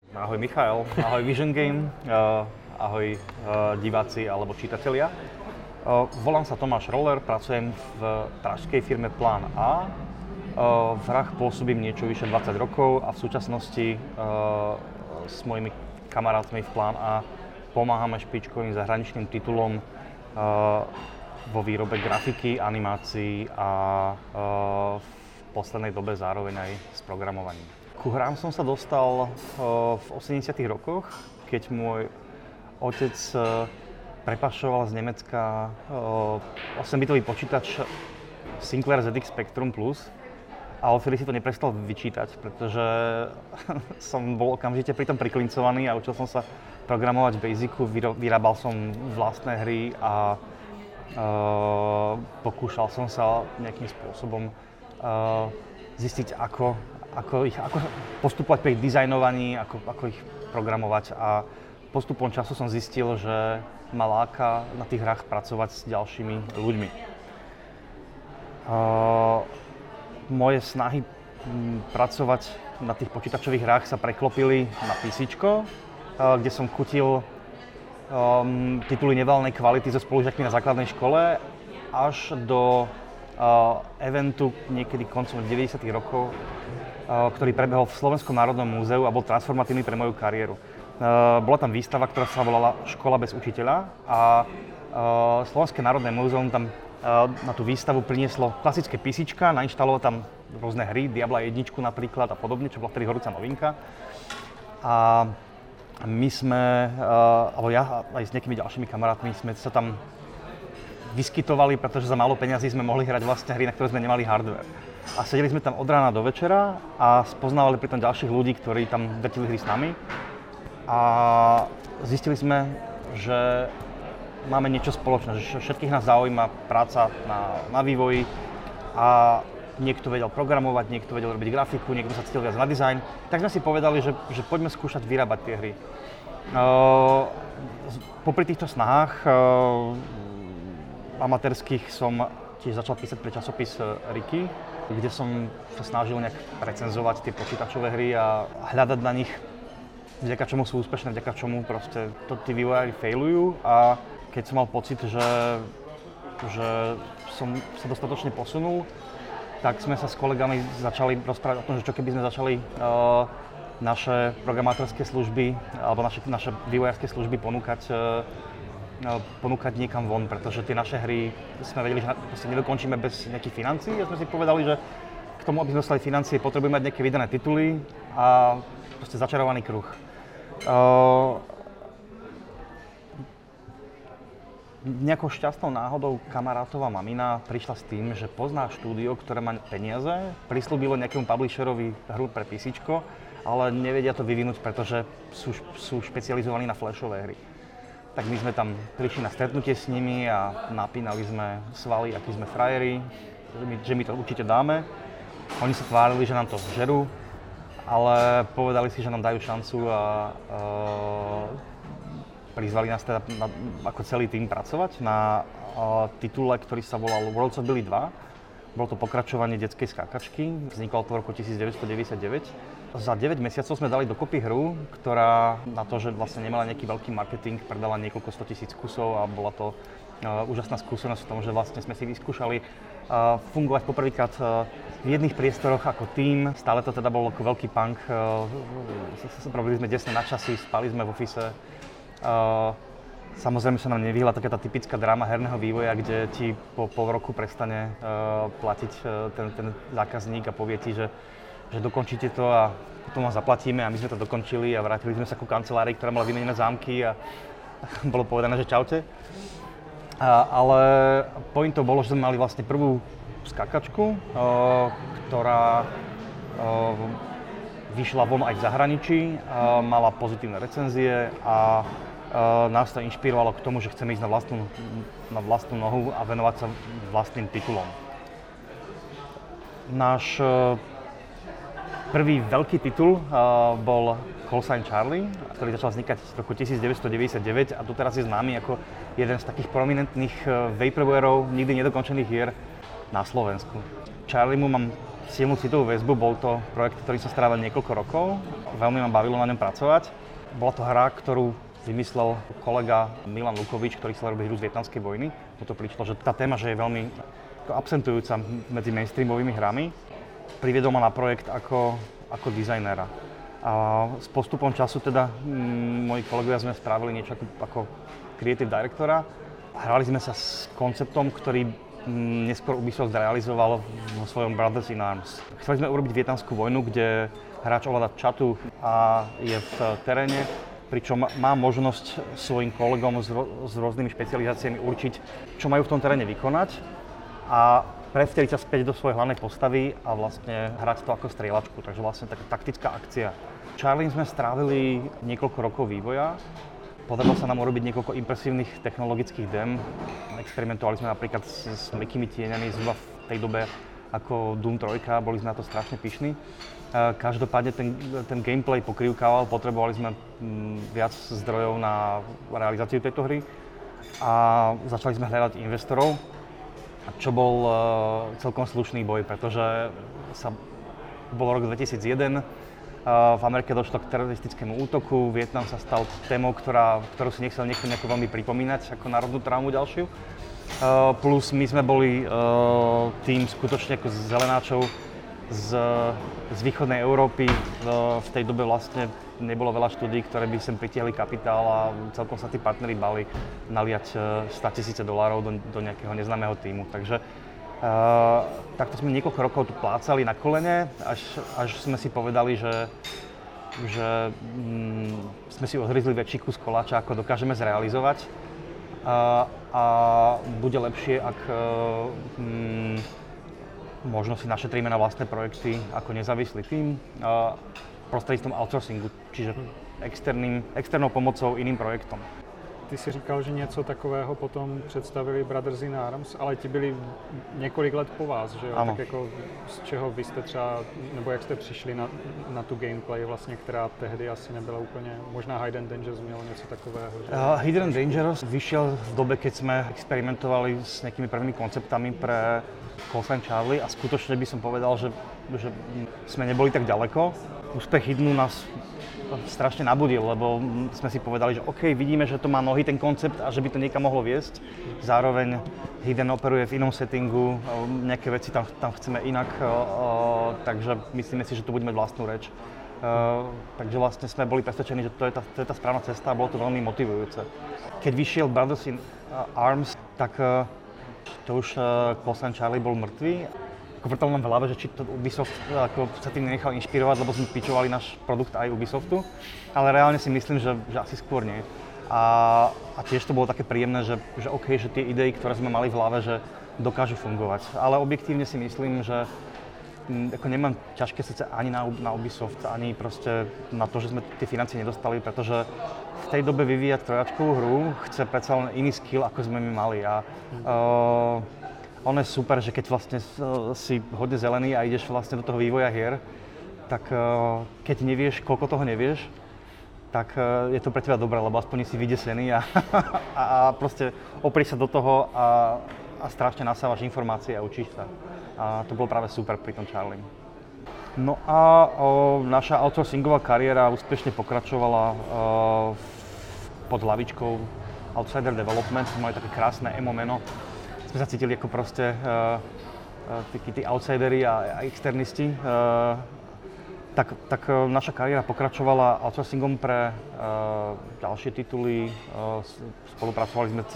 Ahoj Michael, ahoj Vision Game, ahoj diváci alebo čitatelia. Volám sa Tomáš Roller, pracujem v pražskej firme Plán A. V hrách pôsobím niečo vyše 20 rokov a v súčasnosti s mojimi kamarátmi v Plán A pomáhame špičkovým zahraničným titulom vo výrobe grafiky, animácií a v poslednej dobe zároveň aj s programovaním. Ku hrám som sa dostal v 80. rokoch, keď môj otec prepašoval z Nemecka 8-bitový počítač Sinclair ZX Spectrum Plus a odvtedy si to neprestal vyčítať, pretože som bol okamžite pri tom priklincovaný a učil som sa programovať v Basicu, vyrábal som vlastné hry a pokúšal som sa nejakým spôsobom zistiť, ako postupovať pri ich dizajnovaní, ako ich programovať a postupom času som zistil, že ma láka na tých hrách pracovať s ďalšími ľuďmi. Moje snahy pracovať na tých počítačových hrách sa preklopili na PCčko, kde som kutil tituly nevalnej kvality so spolužiakmi na základnej škole až do eventu niekedy koncom 90. rokov, ktorý prebehol v Slovenskom národnom múzeu a bol transformatívny pre moju kariéru. Bola tam výstava, ktorá sa volala Škola bez učiteľa a Slovenské národné múzeum tam na tú výstavu prinieslo klasické PCčka, nainštalovalo tam rôzne hry, Diabla 1 napríklad a podobne, čo bola vtedy horúca novinka. A my sme, alebo ja aj s nejakými ďalšími kamarátmi sme sa tam vyskytovali, pretože za málo peňazí sme mohli hrať vlastne hry, na ktoré sme nemali hardware. A sedeli sme tam od rána do večera a spoznávali pritom ďalších ľudí, ktorí tam vrtili hry s nami. A zistili sme, že máme niečo spoločné, že všetkých nás zaujíma práca na vývoji a niekto vedel programovať, niekto vedel robiť grafiku, niekto sa cítil viac na dizajn. Tak sme si povedali, že poďme skúšať vyrábať tie hry. Popri týchto snahách amatérských som tiež začal písať pre časopis Riky, kde som sa snažil nejak recenzovať tie počítačové hry a hľadať na nich, vďaka čomu sú úspešné, vďaka čomu proste to tí vývojári failujú. A keď som mal pocit, že som sa dostatočne posunul, tak sme sa s kolegami začali rozprávať o tom, že čo keby sme začali naše programátorské služby alebo naše vývojárske služby ponúkať niekam von, pretože tie naše hry sme vedeli, že nedokončíme bez nejakých financií a sme si povedali, že k tomu, aby sme dostali financie, potrebujeme mať nejaké vydané tituly a proste začarovaný kruh. Nejakou šťastnou náhodou kamarátová mamina prišla s tým, že pozná štúdio, ktoré má peniaze, prislúbilo nejakému publisherovi hru pre PCčko, ale nevedia to vyvinúť, pretože sú špecializovaní na flashové hry. Tak my sme tam prišli na stretnutie s nimi a napínali sme svaly, akí sme frajeri, že my to určite dáme. Oni sa tvárili, že nám to žerú, ale povedali si, že nám dajú šancu a prizvali nás teda ako celý tým pracovať na titule, ktorý sa volal Worlds of Billy 2. Bolo to pokračovanie detskej skákačky, vzniklo to v roku 1999. Za 9 mesiacov sme dali dokopy hru, ktorá na to, že vlastne nemala nejaký veľký marketing, predala niekoľko 100 000 kusov a bola to úžasná skúsenosť v tom, že vlastne sme si vyskúšali fungovať poprvýkrát v jedných priestoroch ako tím. Stále to teda bol ako veľký punk, robili sme desne na časy, spali sme v office. Samozrejme sa nám nevyhla taká tá typická dráma herného vývoja, kde ti po pol roku prestane platiť ten zákazník a povie ti, že dokončíte to a potom vám zaplatíme a my sme to dokončili a vrátili sme sa ku kancelárii, ktorá mala vymenené zámky a bolo povedané, že čaute. Ale pointou bolo, že sme mali vlastne prvú skakačku, ktorá vyšla von aj v zahraničí, mala pozitívne recenzie a nás to inšpirovalo k tomu, že chceme ísť na vlastnú nohu a venovať sa vlastným titulom. Náš prvý veľký titul bol Call Sign Charlie, ktorý začal vznikať v roku 1999 a doteraz je známy ako jeden z takých prominentných vaporwareov nikdy nedokončených hier na Slovensku. Charliemu mám silnú citovú väzbu, bol to projekt, ktorý sa strávil niekoľko rokov. veľmi ma bavilo na ňom pracovať. Bola to hra, ktorú vymyslel kolega Milan Lukovič, ktorý chcel robiť hru z vietnamskej vojny. Toto prišlo, že tá téma, že je veľmi absentujúca medzi mainstreamovými hrami, priviedol ma na projekt ako dizajnéra. A s postupom času teda moji kolegovia sme spravili niečo ako creative directora. Hrali sme sa s konceptom, ktorý neskôr Ubisoft realizoval vo svojom Brothers in Arms. Chceli sme urobiť vietnamskú vojnu, kde hráč ovláda čatu a je v teréne, pričom má možnosť svojim kolegom s rôznymi špecializáciami určiť, čo majú v tom teréne vykonať a prevteliť sa späť do svojej hlavnej postavy a vlastne hrať to ako strieľačku, takže vlastne taká taktická akcia. Charlie sme strávili niekoľko rokov vývoja. Podarilo sa nám urobiť niekoľko impresívnych technologických dem. Experimentovali sme napríklad s mäkkými tieňami zhruba v tej dobe ako Doom 3, boli sme na to strašne pyšní. Každopádne ten gameplay pokrývkával, potrebovali sme viac zdrojov na realizáciu tejto hry a začali sme hľadať investorov, čo bol celkom slušný boj, pretože bol rok 2001, v Amerike došlo k teroristickému útoku, Vietnam sa stal témou, ktorú si nechcel niekto nejako veľmi pripomínať ako národnú traumu ďalšiu. Plus my sme boli tým skutočne ako zelenáčov z východnej Európy. V tej dobe vlastne nebolo veľa štúdií, ktoré by sem pritiahli kapitál a celkom sa tí partneri bali naliať $100,000 do nejakého neznámeho tímu. Takže takto sme niekoľko rokov tu plácali na kolene, až sme si povedali, že sme si odhryzli väčší kus koláča, ako dokážeme zrealizovať. A bude lepšie, ak možno si našetríme na vlastné projekty ako nezávislý tím prostredníctvom outsourcingu, čiže externou pomocou iným projektom. Ty si říkal, že něco takového potom představili Brothers in Arms, ale ti byli několik let po vás, že jo? Ano. Tak jako z čeho vy jste třeba, nebo jak jste přišli na tu gameplay vlastně, která tehdy asi nebyla úplně, možná Hidden Dangerous mělo něco takového, že? Hidden Dangerous vyšiel v dobe, keď sme experimentovali s nejakými prvými konceptami pre Call Sign Charlie a skutočne by som povedal, že sme neboli tak ďaleko. Úspech Hiddenu nás strašne nabudil, lebo sme si povedali, že OK, vidíme, že to má nohy ten koncept a že by to niekam mohlo viesť. Zároveň Hidden operuje v inom settingu, nejaké veci tam chceme inak, takže myslíme si, že to bude mať vlastnú reč. Takže vlastne sme boli presvedčení, že to je tá správna cesta a bolo to veľmi motivujúce. Keď vyšiel Brothers in Arms, tak to už Call Sign Charlie bol mŕtvý. Vrtalo nám v hlave, že či to Ubisoft ako sa tým nenechal inšpirovať, lebo sme pitchovali náš produkt aj Ubisoftu, ale reálne si myslím, že asi skôr nie. A tiež to bolo také príjemné, že OK, že tie idei, ktoré sme mali v hlave, že dokážu fungovať. Ale objektívne si myslím, že ako nemám ťažké srdce ani na Ubisoft, ani proste na to, že sme tie financie nedostali, pretože v tej dobe vyvíjať trojačkovú hru chce predsa len iný skill, ako sme my mali. A ono je super, že keď vlastne si hodne zelený a ideš vlastne do toho vývoja hier, tak keď nevieš, koľko toho nevieš, tak je to pre teba dobré, lebo aspoň si vydesený a proste oprieš sa do toho a strašne nasávaš informácie a učíš sa. A to bolo práve super pri tom Charlie. No a naša outsourcingová kariéra úspešne pokračovala pod hlavičkou Outsider Development, mali také krásne emo meno. Sme sa cítili ako proste tí outsideri a externisti. Tak naša kariéra pokračovala outsourcingom pre ďalšie tituly. Spolupracovali sme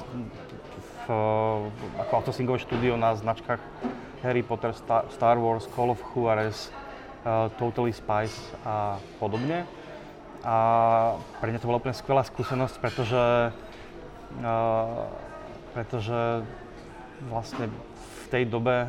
ako outsourcingové štúdio na značkách Harry Potter, Star Wars, Call of Juarez, Totally Spies a podobne. A pre mňa to bola úplne skvelá skúsenosť, pretože vlastne v tej dobe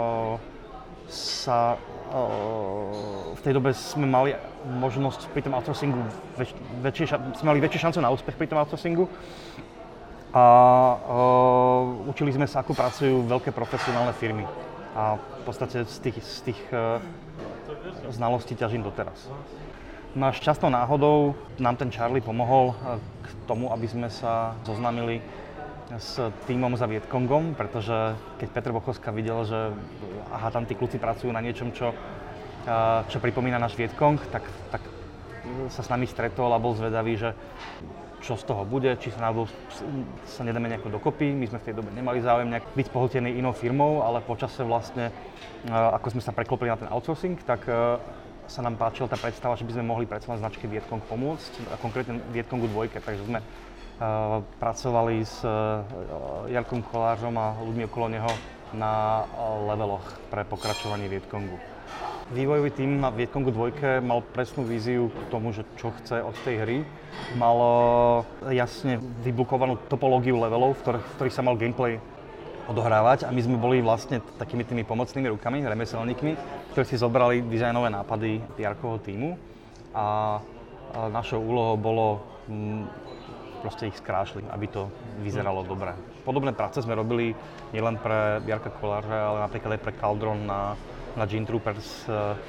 sme mali možnosť pri tom outsourcingu sme mali väčšiu šancu na úspech pri tom outsourcingu a učili sme sa, ako pracujú veľké profesionálne firmy a v podstate z tých znalostí ťažím doteraz. No a šťastnou náhodou nám ten Charlie pomohol k tomu, aby sme sa zoznámili s tímom za Vietkongom, pretože keď Petr Bochovská videl, že tam tí kluci pracujú na niečom, čo pripomína náš Vietkong, tak sa s nami stretol a bol zvedavý, že čo z toho bude, či sa nedáme nejako dokopy. My sme v tej dobe nemali záujem nejak byť pohltení inou firmou, ale počase vlastne, ako sme sa preklopili na ten outsourcing, tak sa nám páčila tá predstava, že by sme mohli predsa len značke Vietcong pomôcť, a konkrétne Vietcongu 2, takže sme pracovali s Jarkom Kolářom a ľuďmi okolo neho na leveloch pre pokračovanie Vietcongu. Vývojový tím na Vietcongu 2 mal presnú víziu k tomu, že čo chce od tej hry. Mal jasne vyblokovanú topológiu levelov, v ktorých sa mal gameplay odohrávať a my sme boli vlastne takými tými pomocnými rukami, remeselníkmi, ktorí si zobrali dizajnové nápady Jarkovho tímu a našou úlohou bolo proste ich skrášliť, aby to vyzeralo dobre. Podobné práce sme robili nielen pre Jarka Koláře, ale napríklad aj pre Cauldron na Gene Troopers,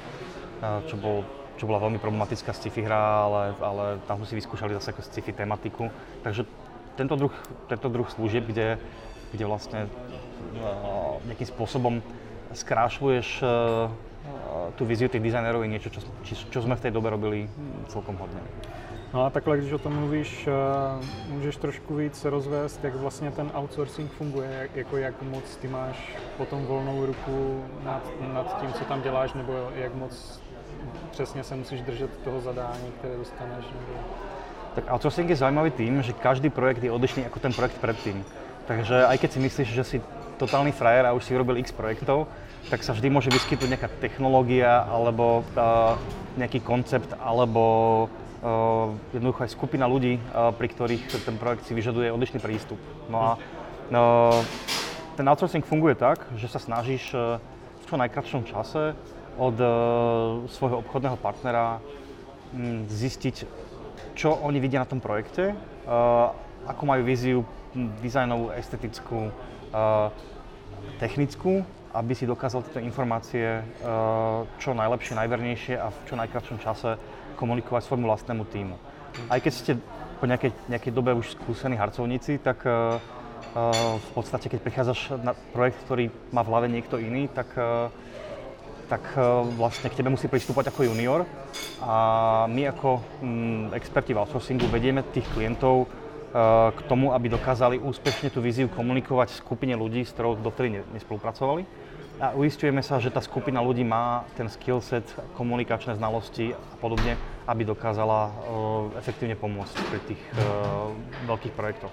čo bola veľmi problematická sci-fi hra, ale tam sme si vyskúšali zase ako sci-fi tematiku. Takže tento druh služieb, kde vlastne nejakým spôsobom skrášľuješ tú víziu tých dizajnerov, je niečo, čo sme v tej dobe robili celkom hodně. No a takhle, když o tom mluvíš, můžeš trošku víc rozvést, jak vlastně ten outsourcing funguje, jako jak moc ty máš potom volnou ruku nad tím, co tam děláš, nebo jak moc přesně se musíš držet toho zadání, které dostaneš? Nebo... Tak outsourcing je zaujímavý tým, že každý projekt je odlišný ako ten projekt predtým. Takže aj keď si myslíš, že si totálny frajer a už si urobil x projektov, tak sa vždy môže vyskytnúť nejaká technológia alebo nejaký koncept alebo jednoducho aj skupina ľudí, pri ktorých ten projekt si vyžaduje odlišný prístup. No a ten outsourcing funguje tak, že sa snažíš v čo najkratšom čase od svojho obchodného partnera zistiť, čo oni vidia na tom projekte, ako majú víziu dizajnovú, estetickú, technickú, aby si dokázal tieto informácie čo najlepšie, najvernejšie a v čo najkratšom čase komunikovať svojmu vlastnému tímu. Aj keď ste po nejakej dobe už skúsení harcovníci, tak v podstate, keď prichádzaš na projekt, ktorý má v hlave niekto iný, tak vlastne k tebe musí pristúpať ako junior a my ako experti v outsourcingu vedieme tých klientov k tomu, aby dokázali úspešne tú víziu komunikovať skupine ľudí, s ktorou dovtedy nespolupracovali. A uisťujeme sa, že tá skupina ľudí má ten skillset, komunikačné znalosti a podobne, aby dokázala efektívne pomôcť pri tých veľkých projektoch.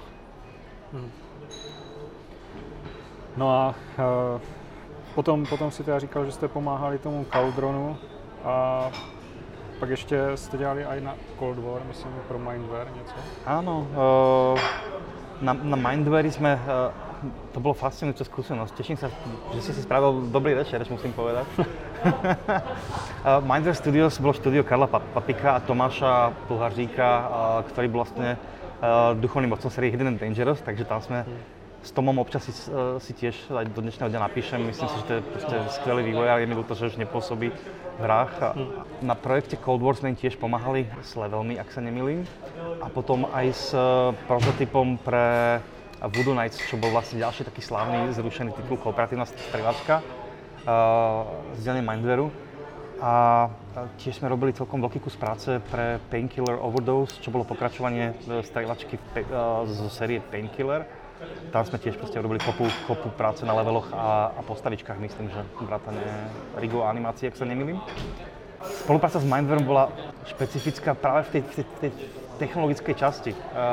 No a potom si teda říkal, že jste pomáhali tomu Cauldronu a pak ještě jste dělali aj na Cold War, myslím, pro Mindware něco? Áno, na Mindware sme, to bolo fascinujúca skúsenosť. Teším sa, že si spravil dobrý večer, musím povedať. Mindware Studios bolo štúdio Karla Papika a Tomáša Plhaříka, ktorý bol vlastne duchovným otcom série Hidden and Dangerous, takže tam sme s Tomom občas si tiež aj do dnešného dňa napíšem. Myslím si, že to je proste skvelý vývojár, je mi ľúto, že už nepôsobí v hrách. Na projekte Cold War sme im tiež pomáhali s levelmi, ak sa nemýlim. A potom aj s prototypom pre Voodoo Knights, čo bol vlastne ďalší taký slávny zrušený titul, kooperatívna strieľačka z dielne Mindwareu. A tiež sme robili celkom veľký kus práce pre Painkiller Overdose, čo bolo pokračovanie strieľačky zo série Painkiller. Tam sme tiež proste robili kopu práce na leveloch a postavičkách, myslím, že vrátane rigov a animácií, ak sa nemýlim. Spolupráca s Mindwareom bola špecifická práve v tej technologickej časti.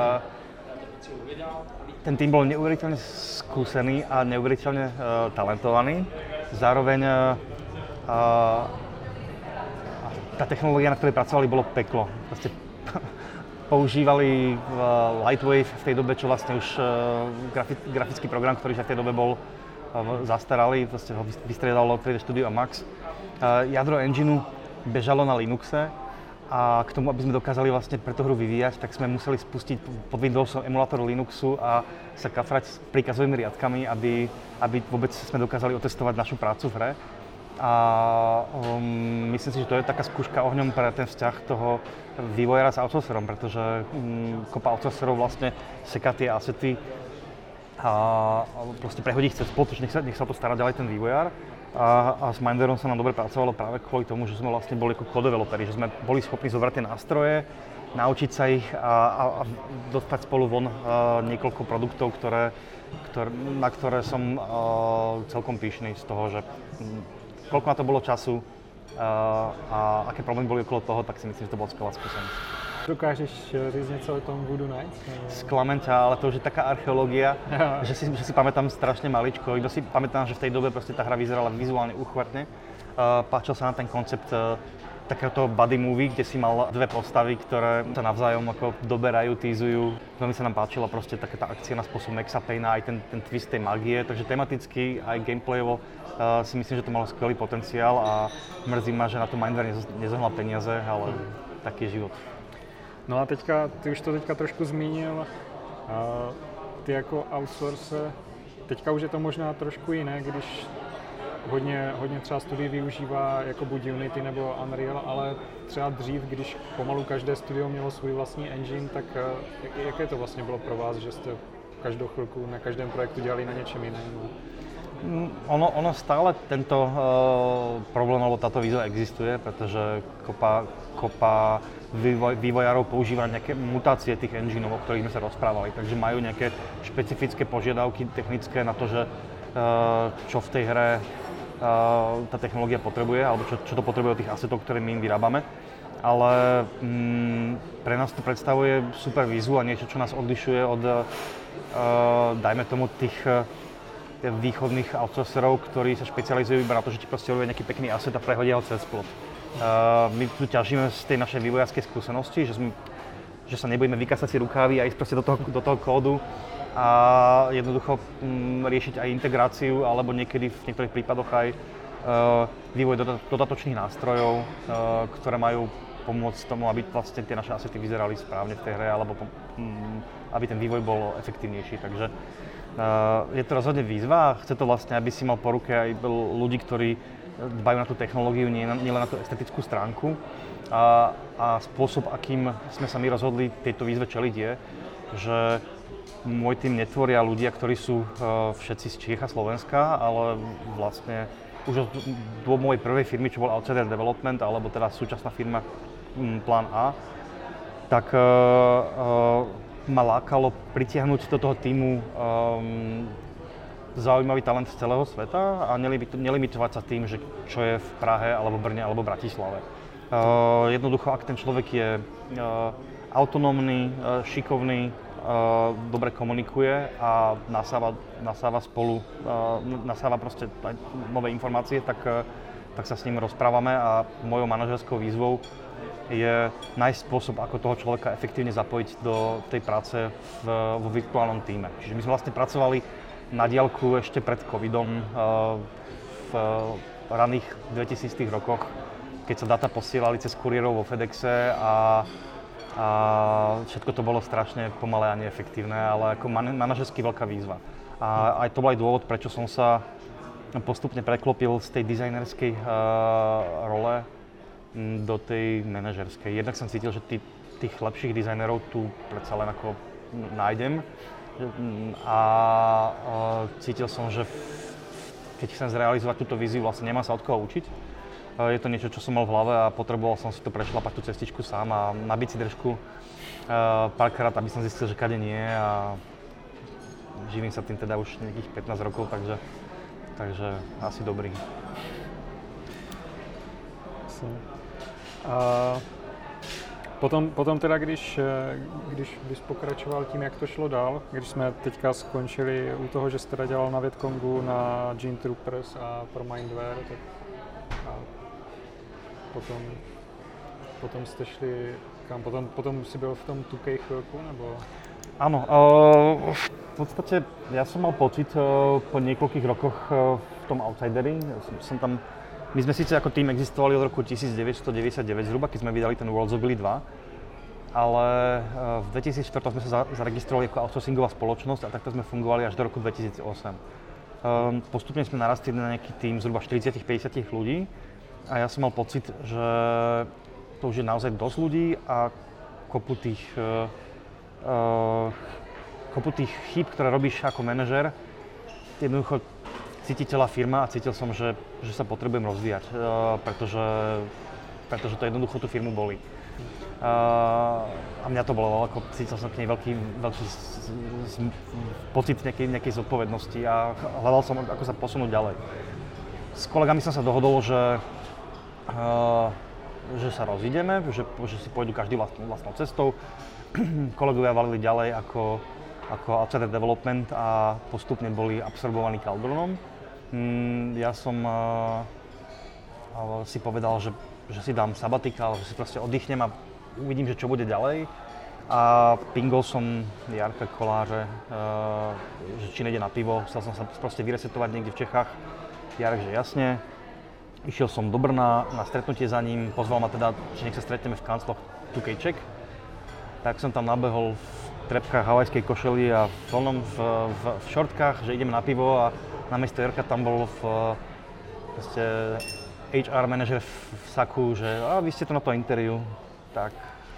Ten tým bol neuveriteľne skúsený a neuveriteľne talentovaný. Zároveň tá technológia, na ktorej pracovali, bolo peklo. Proste používali Lightwave v tej dobe, čo vlastne už grafický program, ktorý v tej dobe bol zastaralý, vlastne ho vystriedalo 3D Studio a Max. Jadro engineu bežalo na Linuxe a k tomu, aby sme dokázali vlastne pre tú hru vyvíjať, tak sme museli spustiť pod Windowsom emulátor Linuxu a sa kafrať s príkazovými riadkami, aby vôbec sme dokázali otestovať našu prácu v hre. A myslím si, že to je taká skúška ohňom pre ten vzťah toho vývojára s outsourcerom, pretože kopa outsourcerov vlastne seká tie asety a proste prehodí ich cez plot, nech sa to stará ďalej ten vývojár. a s Minderom sa nám dobre pracovalo práve kvôli tomu, že sme vlastne boli ako co-developeri, že sme boli schopní zobrať tie nástroje, naučiť sa ich a dostať spolu von niekoľko produktov, na ktoré som celkom pyšný z toho, že koľko na to bolo času a aké problémy boli okolo toho, tak si myslím, že to bola skvelá skúsenosť. Dokážeš říct něco o tom Voodoo Nights? Sklamem ťa, ale to už je taká archeológia, že si pamätám strašne maličko. Iba si pamätám, že v tej dobe proste tá hra vyzerala vizuálne úchvatne. Páčil sa nám ten koncept takéhoto buddy movie, kde si mal dve postavy, ktoré sa navzájom ako doberajú, tízujú. Veľmi sa nám páčila proste taká tá akcia na spôsob Maxa Payna, aj ten twist tej magie, takže tematicky aj gameplayovo si myslím, že to malo skvelý potenciál a mrzí ma, že na to Mindware nezohnal peniaze, ale taký je život. No a ty už to teďka trošku zmínil, ty jako outsource, teďka už je to možná trošku jiné, když hodně třeba studií využívá jako buď Unity nebo Unreal, ale třeba dřív, když pomalu každé studio mělo svůj vlastní engine, tak jaké to vlastně bylo pro vás, že jste každou chvilku na každém projektu dělali na něčem jiném? Ono stále tento problém alebo táto výzva existuje, pretože kopa vývojárov používa nejaké mutácie tých engineov, o ktorých sme sa rozprávali, takže majú nejaké špecifické požiadavky technické na to, že čo v tej hre tá technológia potrebuje, alebo čo to potrebuje od tých assetov, ktoré my im vyrábame. Ale pre nás to predstavuje super výzvu a niečo, čo nás odlišuje od, dajme tomu, tých východných outsourcerov, ktorí sa špecializujú iba na to, že ti proste robia nejaký pekný asset a prehodia ho cez plot. My tu ťažíme z tej našej vývojárskej skúsenosti, že sa nebudeme vykasať si rukávy a ísť proste do toho kódu a jednoducho riešiť aj integráciu alebo niekedy v niektorých prípadoch aj vývoj dodatočných nástrojov, ktoré majú pomôcť tomu, aby vlastne tie naše assety vyzerali správne v tej hre alebo aby ten vývoj bol efektívnejší. Takže je to rozhodne výzva a chce to vlastne, aby si mal po ruke aj ľudí, ktorí dbajú na tú technológiu, nielen na tú estetickú stránku. A spôsob, akým sme sa my rozhodli tejto výzve čeliť je, že môj tým netvoria ľudia, ktorí sú všetci z Čiech a Slovenska, ale vlastne už od mojej prvej firmy, čo bol Outsider Development, alebo teda súčasná firma Plán A, tak ma lákalo pritiahnuť do toho tímu zaujímavý talent z celého sveta a nelimitovať sa tým, že čo je v Prahe, alebo Brne, alebo Bratislave. Jednoducho, ak ten človek je autonómny, šikovný, dobre komunikuje a nasáva proste nové informácie, tak sa s ním rozprávame a mojou manažerskou výzvou je nájsť spôsob, ako toho človeka efektívne zapojiť do tej práce vo virtuálnom tíme. Čiže my sme vlastne pracovali na diaľku ešte pred covidom v raných 2000 rokoch, keď sa dáta posielali cez kuriérov vo FedExe a všetko to bolo strašne pomalé a neefektívne, ale ako manažersky veľká výzva. A aj to bol aj dôvod, prečo som sa postupne preklopil z tej dizajnerskej role do tej manažerskej. Jednak som cítil, že tých lepších dizajnerov tu predsa len ako nájdem a cítil som, že keď chcem zrealizovať túto víziu, vlastne nemám sa od koho učiť. Je to niečo, čo som mal v hlave a potreboval som si to prešlapať tú cestičku sám a nabiť si držku párkrát, aby som zistil, že kade nie a živím sa tým teda už nejakých 15 rokov, takže asi dobrý. A potom teda, když bys pokračoval tím, jak to šlo dál, když jsme teďka skončili u toho, že jsi teda dělal na Vietcongu, na Gene Troopers a pro Mindware, tak a potom jste šli kam? Potom si byl v tom 2K chvilku, nebo? Áno, v podstate ja som mal pocit po niekoľkých rokoch v tom Outsideri, my sme síce ako tým existovali od roku 1999 zhruba, keď sme vydali ten Worlds of Billy 2, ale v 2004 sme sa zaregistrovali ako outsourcingová spoločnosť a takto sme fungovali až do roku 2008. Postupne sme narastli na nejaký tým zhruba 40-50 ľudí a ja som mal pocit, že to už je naozaj dosť ľudí a kopu tých chýb, ktoré robíš ako manažer, jednoducho cítiteľa firma a cítil som, že sa potrebujem rozvíjať, pretože to jednoducho tú firmu bolí. A mňa to bolo, ako cítil som k nej veľký pocit nejakej zodpovednosti a hľadal som, ako sa posunúť ďalej. S kolegami som sa dohodol, že sa rozídeme, že si pôjdu každý vlastnou cestou. Kolegovia valili ďalej ako outsider development a postupne boli absorbovaní Caldronom. Ja som si povedal, že si dám sabatikál, že si proste oddychnem a uvidím, že čo bude ďalej. A pingol som Jarka Koláře, že či nejde na pivo, chcel som sa proste vyresetovať niekde v Čechách. Jarek, že jasne. Išiel som do Brna na stretnutie za ním, pozval ma teda, že nech sa stretneme v kancloch 2K Czech. Tak som tam nabehol v trepkách havajskej košeli a v šortkách, že ideme na pivo a namiesto Jarka tam bol proste HR manažer v saku, že vy ste tu na to interview. Tak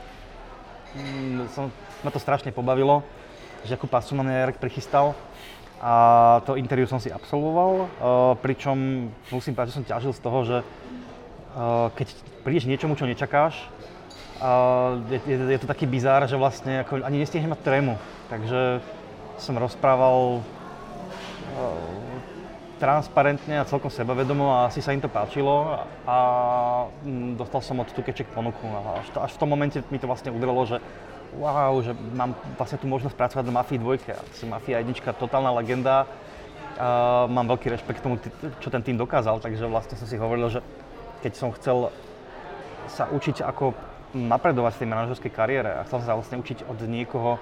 ma to strašne pobavilo, že akú pasu na mňa Jarek prichystal. A to interview som si absolvoval, pričom musím povedať, že som ťažil z toho, že keď prídeš niečomu, čo nečakáš, je to taký bizár, že vlastne ako ani nestihnem mať trému. Takže som rozprával transparentne a celkom sebavedomo a asi sa im to páčilo a dostal som od 2K Czech ponuku. A až v tom momente mi to vlastne udelilo, že wow, že mám vlastne tú možnosť pracovať na Mafii 2. Mafia 1, totálna legenda. Mám veľký rešpekt k tomu, čo ten tým dokázal, takže vlastne som si hovoril, že keď som chcel sa učiť, ako napredovať v tej manažerskej kariére a chcel sa vlastne učiť od niekoho,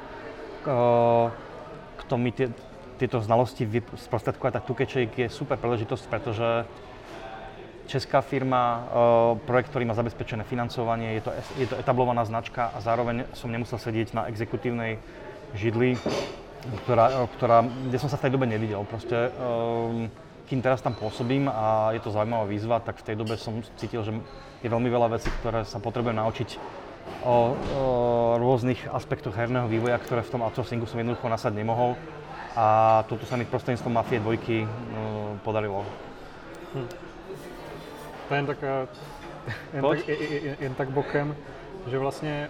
kto mi tieto znalosti sprostredkovať, tak 2K Czech je super príležitosť, pretože česká firma, projekt, ktorý má zabezpečené financovanie, je to etablovaná značka a zároveň som nemusel sedieť na exekutívnej židli, kde som sa v tej dobe nevidel. Proste, kým teraz tam pôsobím a je to zaujímavá výzva, tak v tej dobe som cítil, že je veľmi veľa vecí, ktoré sa potrebujem naučiť o rôznych aspektoch herného vývoja, ktoré v tom outsourcingu som jednoducho nasať nemohol. A toto sa mi prostredníctvom Mafie 2 podarilo. To je jen tak bokem, že vlastně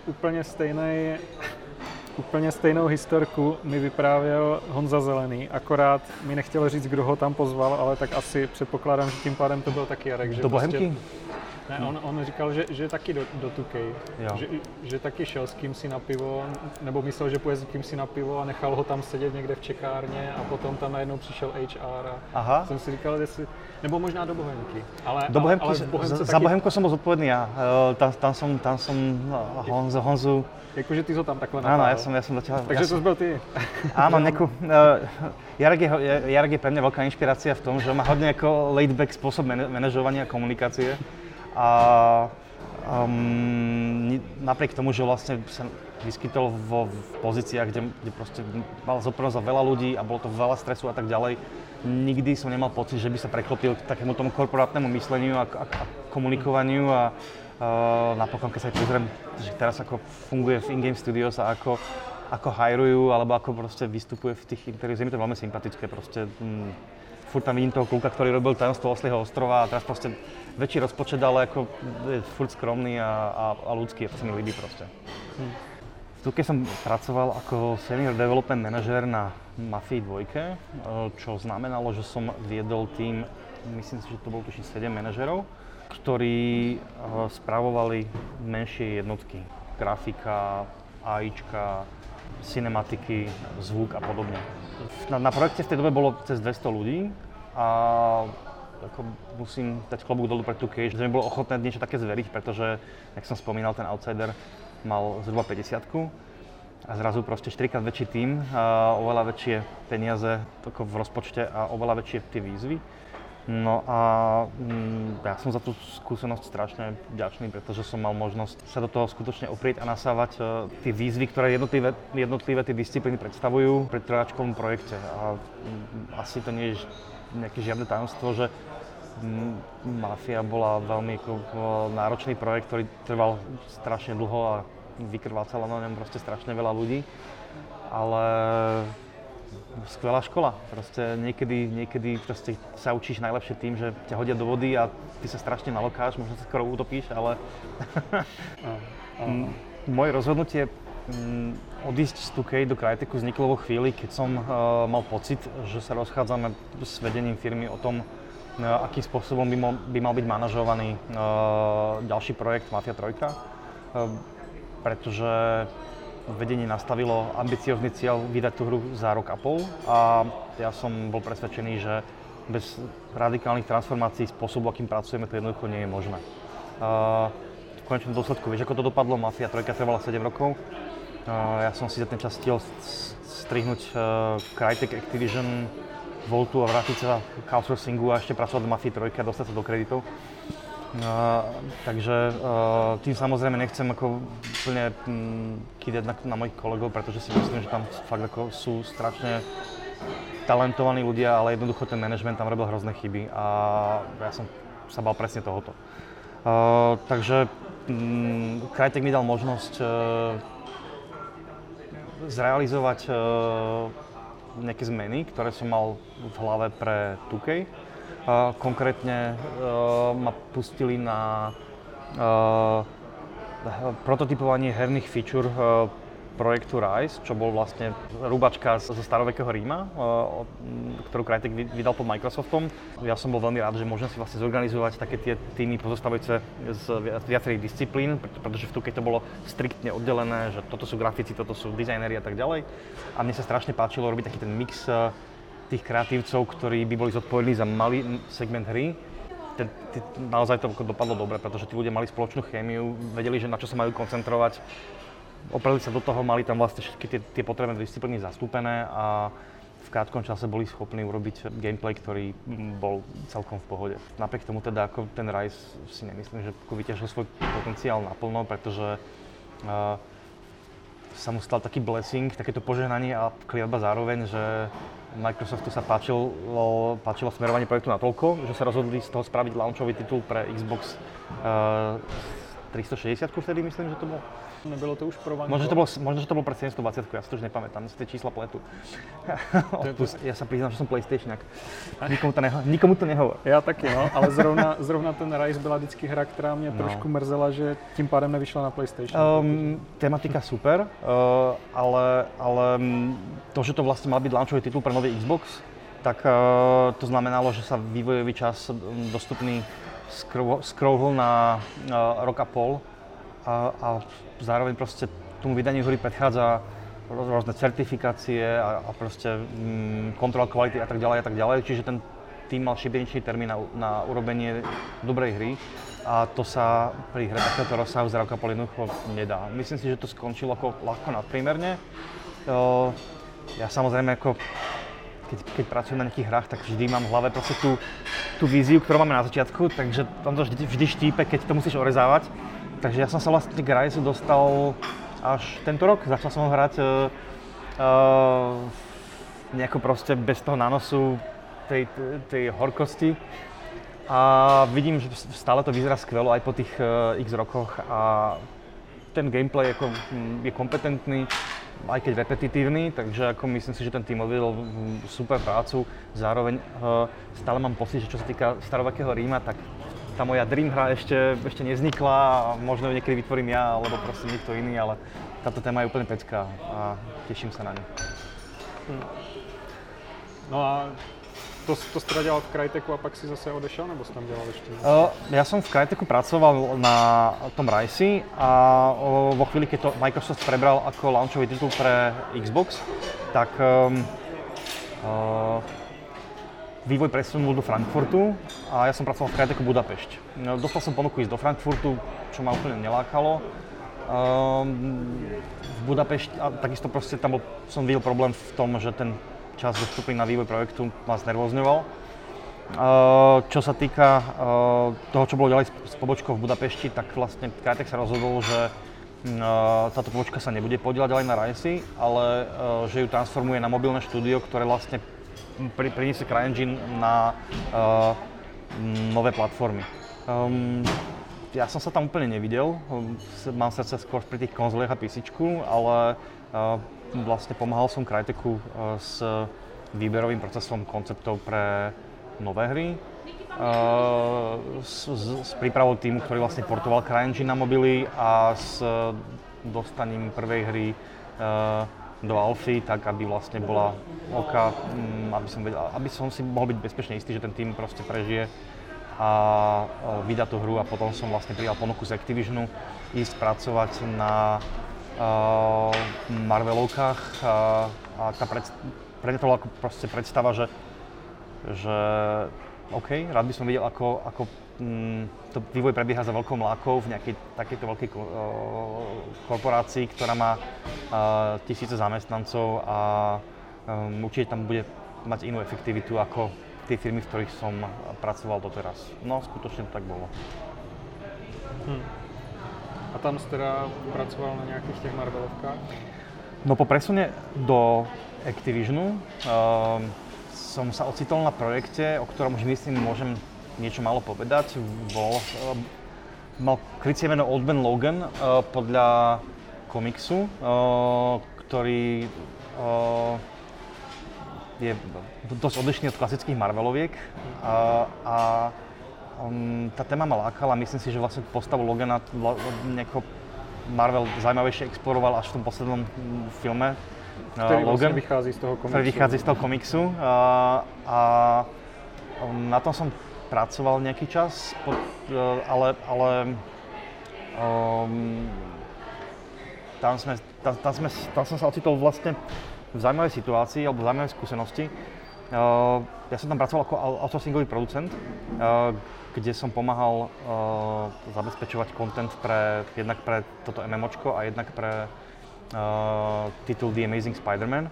úplně stejnou historku mi vyprávěl Honza Zelený, akorát mi nechtěl říct, kdo ho tam pozval, ale tak asi předpokládám, že tím pádem to byl taky Jarek. Že do Bohemky? Ne, on říkal, že taky do 2K, že taky šel s kýmsi na pivo, nebo myslel, že půjde s kýmsi na pivo a nechal ho tam sedět někde v čekárně a potom tam najednou přišel HR a jsem si říkal, jestli, nebo možná do Bohemky. Do Bohemky, ale za Bohemku som bol zodpovedný ja, tam som Honzu. Jakože ty ho tam takhle natáhl. Áno, ja som začal. Takže to byl ty. Áno, Jarek je pre mňa veľká inšpirácia v tom, že má hodne ako laid-back spôsob manažovania a komunikácie. A napriek tomu, že vlastne sa vyskytol v pozíciách, kde proste mal zodpovednosť za veľa ľudí a bolo to veľa stresu a tak ďalej, nikdy som nemal pocit, že by sa preklopil k takému tomu korporátnemu mysleniu a komunikovaniu a napokon, keď sa aj pozriem, že teraz ako funguje v In-Game Studios a ako hajrujú alebo ako proste vystupuje v tých interviews, je mi to veľmi sympatické proste. Furt tam vidím toho kluka, ktorý robil Tajomstvo Oslieho ostrova a teraz proste väčší rozpočet, ale ako je furt skromný a ľudský, to sa mi ľúbi proste. V 2K som pracoval ako Senior Development Manager na Mafii 2, čo znamenalo, že som viedol tým, myslím si, že to bolo tuším 7 manažerov, ktorí spravovali menšie jednotky. Grafika, AIčka, cinematiky, zvuk a podobne. Na projekte v tej dobe bolo cez 200 ľudí a ako musím dať klobúk dolu pre 2K, že mi bolo ochotné niečo také zveriť, pretože, jak som spomínal, ten outsider mal zhruba 50-ku a zrazu proste 4-krát väčší tím, oveľa väčšie peniaze v rozpočte a oveľa väčšie tie výzvy. No a ja som za tú skúsenosť strašne vďačný, pretože som mal možnosť sa do toho skutočne oprieť a nasávať tie výzvy, ktoré jednotlivé tie disciplíny predstavujú pri trojáčkovom projekte. A asi to nie je nejaké žiadne tajomstvo, že Mafia bola veľmi náročný projekt, ktorý trval strašne dlho a vykrvácalo na ňom proste strašne veľa ľudí. Ale skvelá škola. Proste niekedy proste sa učíš najlepšie tým, že ťa hodia do vody a ty sa strašne nalokáš, možno sa skoro utopíš, ale moje rozhodnutie odísť z 2K do Cryteku vzniklo vo chvíli, keď som mal pocit, že sa rozchádzame s vedením firmy o tom, akým spôsobom by mal byť manažovaný ďalší projekt Mafia 3, pretože vedenie nastavilo ambiciózny cieľ vydať tú hru za rok a pol a ja som bol presvedčený, že bez radikálnych transformácií spôsobu, akým pracujeme, to jednoducho nie je možné. V konečnom dôsledku, vieš, ako to dopadlo? Mafia 3 trvala 7 rokov. Ja som si za ten čas stihol strihnúť Crytek, Activision, Voltu a vrátiť sa k outsourcingu a ešte pracovať do Mafii 3 a dostať sa do kreditov. Takže tým samozrejme nechcem ako úplne kýdať na mojich kolegov, pretože si myslím, že tam fakt ako sú strašne talentovaní ľudia, ale jednoducho ten manažment tam robil hrozné chyby a ja som sa bál presne tohoto. Takže Crytek mi dal možnosť zrealizovať nejaké zmeny, ktoré som mal v hlave pre 2K. Konkrétne ma pustili na prototypovanie herných feature projektu Rise, čo bol vlastne rúbačka zo starovekého Ríma, ktorú Crytek vydal pod Microsoftom. Ja som bol veľmi rád, že môžem si vlastne zorganizovať také tie týmy pozostávajúce z viacerých disciplín, pretože v 2K to bolo striktne oddelené, že toto sú grafici, toto sú dizajneri a tak ďalej. A mne sa strašne páčilo robiť taký ten mix tých kreatívcov, ktorí by boli zodpovední za malý segment hry. Naozaj to dopadlo dobre, pretože tí ľudia mali spoločnú chémiu, vedeli, že na čo sa majú koncentrovať. Opreli sa do toho, mali tam vlastne všetky tie potrebné disciplíny zastúpené a v krátkom čase boli schopní urobiť gameplay, ktorý bol celkom v pohode. Napriek tomu teda ako ten Rise si nemyslím, že vyťažil svoj potenciál naplno, pretože sa mu stal taký blessing, takéto požehnanie a kliatba zároveň, že Microsoftu sa páčilo smerovanie projektu natoľko, že sa rozhodli z toho spraviť launchový titul pre Xbox 360 vtedy, myslím, že to bolo. Nebylo to už pro Vanko? Možno, že to bolo pre 720, ja si to už nepamätám, si tie čísla pletu. Ja sa priznám, že som PlayStationák. Nikomu to nehovor. Já taky, no, ale zrovna ten Rise byla vždycky hra, která mě trošku mrzela, že tím pádem nevyšla na PlayStation. Tematika super, ale to, že to vlastne mal byť launchový titul pre nový Xbox, tak to znamenalo, že sa vývojový čas dostupný skrouhol na rok a pol a zároveň proste tomu vydaniu hry predchádza rôzne certifikácie a proste kontrola kvality a tak ďalej, čiže ten tým mal šibeničný termín na urobenie dobrej hry a to sa pri hre takéhoto rozsahu za rok a pol jednoducho nedá. Myslím si, že to skončilo ako ľahko nadprímerne. Ja samozrejme ako keď pracujem na nejakých hrách, tak vždy mám v hlave proste tú víziu, ktorú máme na začiatku, takže tam to vždy štípe, keď to musíš orezávať. Takže ja som sa vlastne k Rise dostal až tento rok. Začal som ho hrať nejako proste bez toho nánosu tej horkosti. A vidím, že stále to vyzerá skvelo aj po tých x rokoch a ten gameplay je kompetentný, aj keď repetitívny, takže ako myslím si, že ten tým odvedol super prácu. Zároveň stále mám pocit, že čo sa týka starovekého Ríma, tak tá moja dream hra ešte nevznikla a možno ju niekedy vytvorím ja, alebo proste niekto iný, ale táto téma je úplne pecká a teším sa na ňu. No a to jsi dělal v Cryteku a pak si zase odešel, nebo jsi tam dělal ještě? Ja som v Cryteku pracoval na tom Rise a vo chvíli, keď to Microsoft prebral ako launchový titul pre Xbox, tak vývoj presunul do Frankfurtu a ja som pracoval v Cryteku Budapešť. Dostal som ponuku ísť do Frankfurtu, čo ma úplne nelákalo. V Budapešti, a takisto proste tam som videl problém v tom, že ten čas dostupný na vývoj projektu ma znervozňoval. Čo sa týka toho, čo bolo ďalej s pobočkou v Budapešti, tak vlastne Crytek sa rozhodol, že táto pobočka sa nebude podieľať ďalej na Rise, ale že ju transformuje na mobilné štúdio, ktoré vlastne priniesie CryEngine na nové platformy. Ja som sa tam úplne nevidel, mám srdce skôr pri tých konzoliach a PCčku, ale Vlastne pomáhal som Cryteku s výberovým procesom konceptov pre nové hry, s prípravou týmu, ktorý vlastne portoval CryEngine na mobily a s dostaním prvej hry do alfy, tak aby vlastne bola oka, aby som si mohol byť bezpečne istý, že ten tým proste prežije a vydá tú hru, a potom som vlastne prijal ponuku z Activisionu ísť pracovať na Marvelovkách a pre mňa to bola proste predstava, že OK, rád by som videl, ako to vývoj prebieha za veľkou mlákou v nejakej takejto veľkej korporácii, ktorá má tisíce zamestnancov a určite tam bude mať inú efektivitu ako tie firmy, v ktorých som pracoval doteraz. No, skutočne to tak bolo. A tam si teda pracoval na nejakých těch Marvelovkách? No, po presune do Activisionu som sa ocitol na projekte, o ktorom už myslím, môžem niečo málo povedať. Mal krycie meno Old Man Logan podľa komiksu, ktorý je dosť odlišný od klasických Marveloviek. Tá téma ma lákala, myslím si, že vlastne postavu Logana nejako Marvel zaujímavejšie exploroval až v tom poslednom filme. Ktorý vlastne vychází z toho komiksu. Ktorý vychází z toho komiksu. A na tom som pracoval nejaký čas, ale tam som sa ocitol vlastne v zaujímavej situácii alebo v zaujímavej skúsenosti. Ja som tam pracoval ako outsourcingový producent, kde som pomáhal zabezpečovať content jednak pre toto MMOčko a jednak pre titul The Amazing Spider-Man,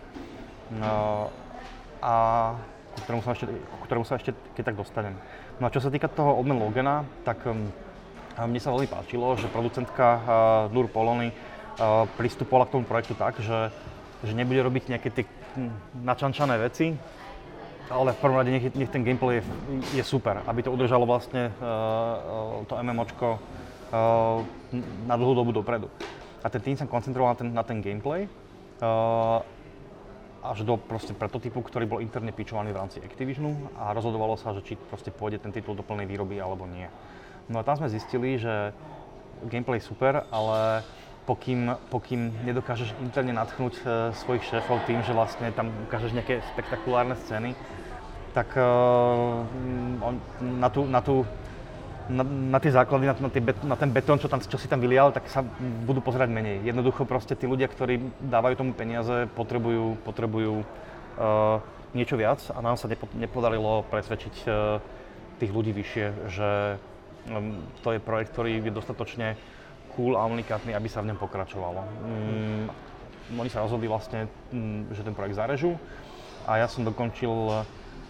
a ku ktorému sa ešte keď tak dostanem. No a čo sa týka toho Old Man Logana, tak mne sa veľmi páčilo, že producentka Nur Polony pristupovala k tomu projektu tak, že nebude robiť nejaké tie načančané veci, ale v prvom rade nech ten gameplay je super, aby to udržalo vlastne to MMOčko na dlhú dobu dopredu. A ten tým sa koncentroval na ten gameplay až do proste prototypu, ktorý bol interne pitchovaný v rámci Activisionu, a rozhodovalo sa, že či proste pôjde ten titul do plnej výroby alebo nie. No a tam sme zistili, že gameplay je super, ale pokým nedokážeš interne nadchnúť svojich šéfov tým, že vlastne tam ukážeš nejaké spektakulárne scény, tak na tie základy, na ten betón, čo si tam vylial, tak sa budú pozerať menej. Jednoducho proste tí ľudia, ktorí dávajú tomu peniaze, potrebujú niečo viac, a nám sa nepodarilo presvedčiť tých ľudí vyššie, že to je projekt, ktorý je dostatočne cool a unikátny, aby sa v ňom pokračovalo. Oni sa rozhodli vlastne, že ten projekt zarežú, a ja som dokončil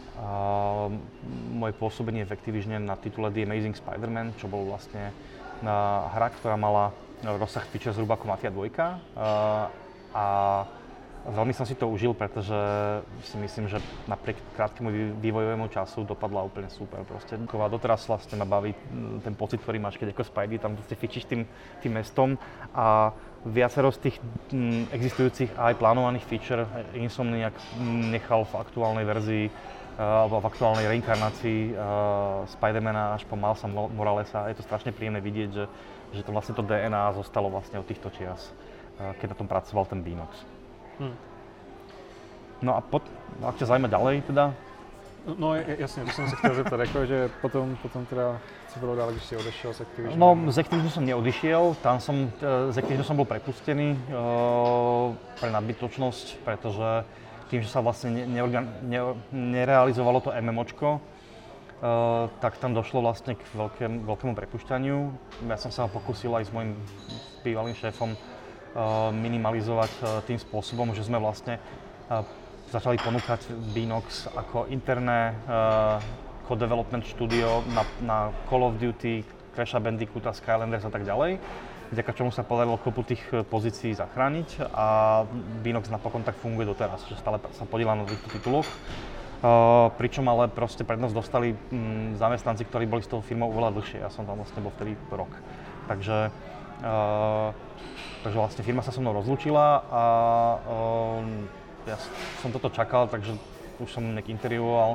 moje pôsobenie v Activisione na titule The Amazing Spider-Man, čo bol vlastne hra, ktorá mala rozsah feature zhruba ako Mafia 2. A veľmi som si to užil, pretože si myslím, že napriek krátkemu vývojovému času dopadla úplne super. Proste. A doteraz vlastne ma baví ten pocit, ktorý máš, keď ako Spidey tam fičíš tým mestom, a viacero z tých existujúcich a aj plánovaných feature Insomniac nechal v aktuálnej verzii alebo v aktuálnej reinkarnácii Spidermana až po Milesa Moralesa. Je to strašne príjemné vidieť, že to vlastne to DNA zostalo vlastne od týchto čias, keď na tom pracoval ten Beanox. No a ak ťa zaujíma ďalej teda? No jasne, to som sa chcel zeptať, že potom teda si bolo ďalej, když si odešiel z Activisionu? No, z Activisionu som neodišiel, z Activisionu som bol prepustený pre nadbytočnosť, pretože tým, že sa vlastne nerealizovalo to MMOčko, tak tam došlo vlastne k veľkému prepušťaniu. Ja som sa pokúsil aj s mojím bývalým šéfom minimalizovať tým spôsobom, že sme vlastne začali ponúkať Beanox ako interné co-development studio na Call of Duty, Crash Bandicoot, Skylanders a tak ďalej, vďaka čomu sa podarilo kopu tých pozícií zachrániť, a Beanox napokon tak funguje doteraz, že stále sa podieľa na týchto tituloch. Pričom ale proste prednosť dostali zamestnanci, ktorí boli s tou firmou oveľa dlhšie. Ja som tam vlastne bol vtedy rok. Takže Takže vlastne firma sa so mnou rozlúčila a ja som toto čakal, takže už som nejak intervjuoval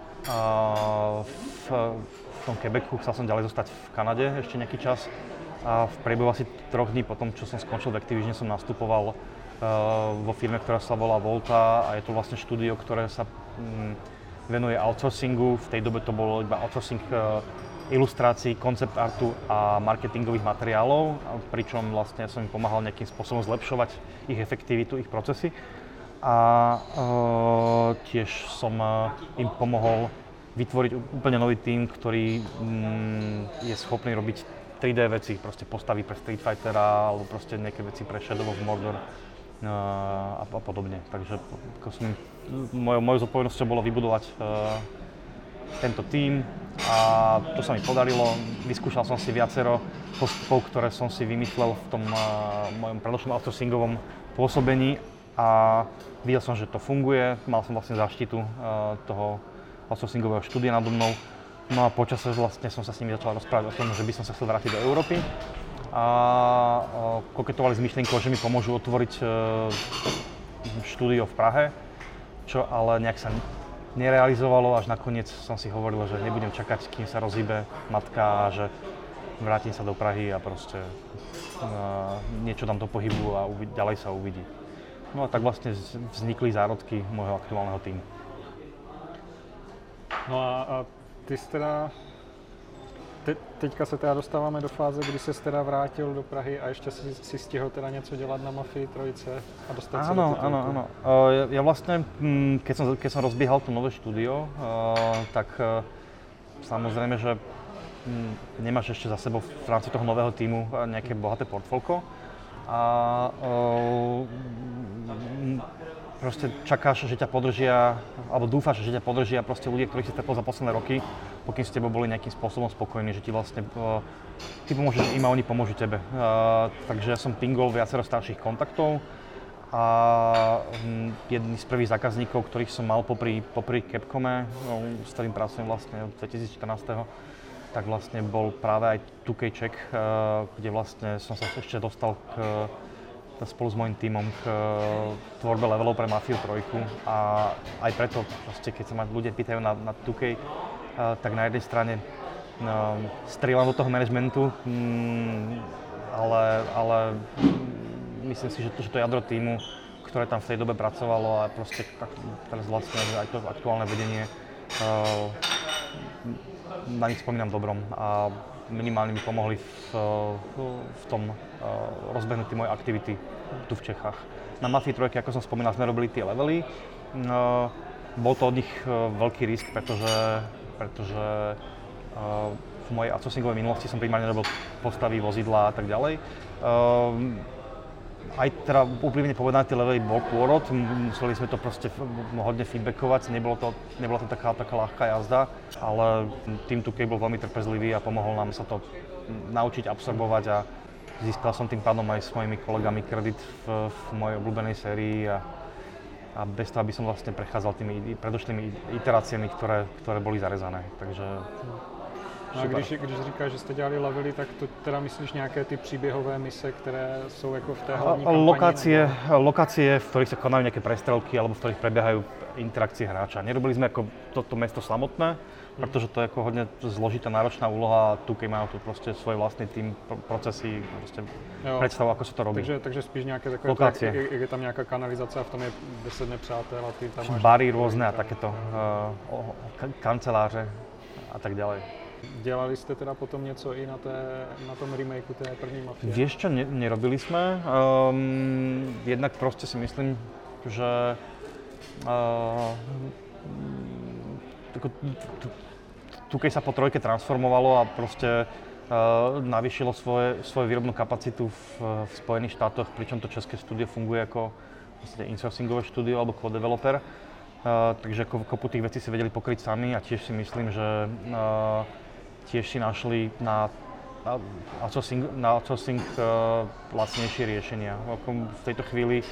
v tom Quebecu, chcel som ďalej zostať v Kanade ešte nejaký čas a v priebehu asi 3 dní potom, čo som skončil v Activisione, som nastupoval vo firme, ktorá sa volá Volta a je to vlastne štúdio, ktoré sa venuje outsourcingu. V tej dobe to bolo iba outsourcing ilustrácií, koncept artu a marketingových materiálov, pričom vlastne som im pomáhal nejakým spôsobom zlepšovať ich efektivitu, ich procesy. A tiež som im pomohol vytvoriť úplne nový tím, ktorý je schopný robiť 3D veci, proste postavy pre Street Fightera alebo proste nejaké veci pre Shadow of Mordor a podobne. Takže mojou zodpovednosťou bolo vybudovať tento tím a to sa mi podarilo. Vyskúšal som si viacero postupov, ktoré som si vymyslel v tom mojom predošlom outsourcingovom pôsobení a videl som, že to funguje. Mal som vlastne záštitu toho outsourcingového štúdia nado mnou. No a počase vlastne som sa s nimi začal rozprávať o tom, že by som sa chcel vrátiť do Európy a koketovali s myšlienkou, že mi pomôžu otvoriť štúdio v Prahe, čo ale nejak sa nerealizovalo, až nakoniec som si hovoril, že nebudem čakať, kým sa rozhýbe matka a že vrátim sa do Prahy a proste niečo tam do pohybu a ďalej sa uvidí. No a tak vlastne vznikli zárodky môjho aktuálneho tímu. No a ty jsi teda, teďka se teda dostáváme do fáze, kdy se teda vrátil do Prahy a ještě si stihl teda něco dělat na Mafii 3 a dostat se do titulku. Áno. Ja vlastne, keď som rozbiehal to nové štúdio, tak samozrejme, že nemáš ešte za sebou v rámci toho nového tímu nejaké bohaté portfólko a proste čakáš, že ťa podržia, alebo dúfaš, že ťa podržia proste ľudia, ktorých si stretol za posledné roky, pokým s tebou boli nejakým spôsobom spokojní, že ti vlastne, ty pomôžeš im a oni pomôžu tebe. Takže ja som pingol viacero starších kontaktov a jedný z prvých zákazníkov, ktorých som mal popri Capcome, s ktorým pracujem vlastne od 2014, tak vlastne bol práve aj 2K Czech, kde vlastne som sa ešte dostal spolu s mojím tímom k tvorbe levelov pre Mafiu 3 a aj preto, proste, keď sa ma ľudia pýtajú na 2K, tak na jednej strane strieľam do toho managementu, ale myslím si, že to jadro tímu, ktoré tam v tej dobe pracovalo a proste teraz vlastne aj to aktuálne vedenie, na nich spomínam dobrom a minimálne mi pomohli v tom rozbehnutí moje aktivity tu v Čechách. Na Mafii 3, ako som spomínal, sme robili tie levely. Bol to od nich veľký risk, pretože v mojej outsourcingovej minulosti som primárne robil postavy, vozidlá a tak ďalej. Aj teda úprimne povedané, tie levely bol pôrod, museli sme to proste hodne feedbackovať, nebola to taká ľahká jazda, ale tým 2K bol veľmi trpezlivý a pomohol nám sa to naučiť absorbovať a získal som tým pádom aj s mojimi kolegami kredit v mojej obľúbenej sérii a bez toho, aby som vlastne prechádzal tými predošlými iteráciami, ktoré boli zarezané, takže a když říkáš, že jste dělali levely, tak to teda myslíš nějaké ty příběhové mise, které jsou jako v té hlavní kampani? Lokácie, v ktorých sa konajú nejaké prestrelky alebo v ktorých prebiehajú interakcie hráča. Nerobili sme ako toto mesto samotné, pretože to je ako hodne zložitá, náročná úloha a 2K majú tu proste svoj vlastný tým, procesy, proste predstavu, ako sa to robí. Takže spíš nejaké takové, lokácie. Je tam nejaká kanalizácia a v tom je 10 nepřátel a ty tam máš... Bary rôzne a takéto kanceláře a tak ďalej. Dělali jste teda potom něco i na tom remakeu té první Mafie? Vieš čo, nerobili sme. Jednak proste si myslím, že keď sa po 3 transformovalo a proste navýšilo svoju výrobnú kapacitu v Spojených štátoch, pričom to české štúdio funguje ako insourcingové štúdio alebo co-developer. Takže kopu tých vecí si vedeli pokryť sami a tiež si myslím, že tiež si našli na outsourcing lacnejšie riešenia. V tejto chvíli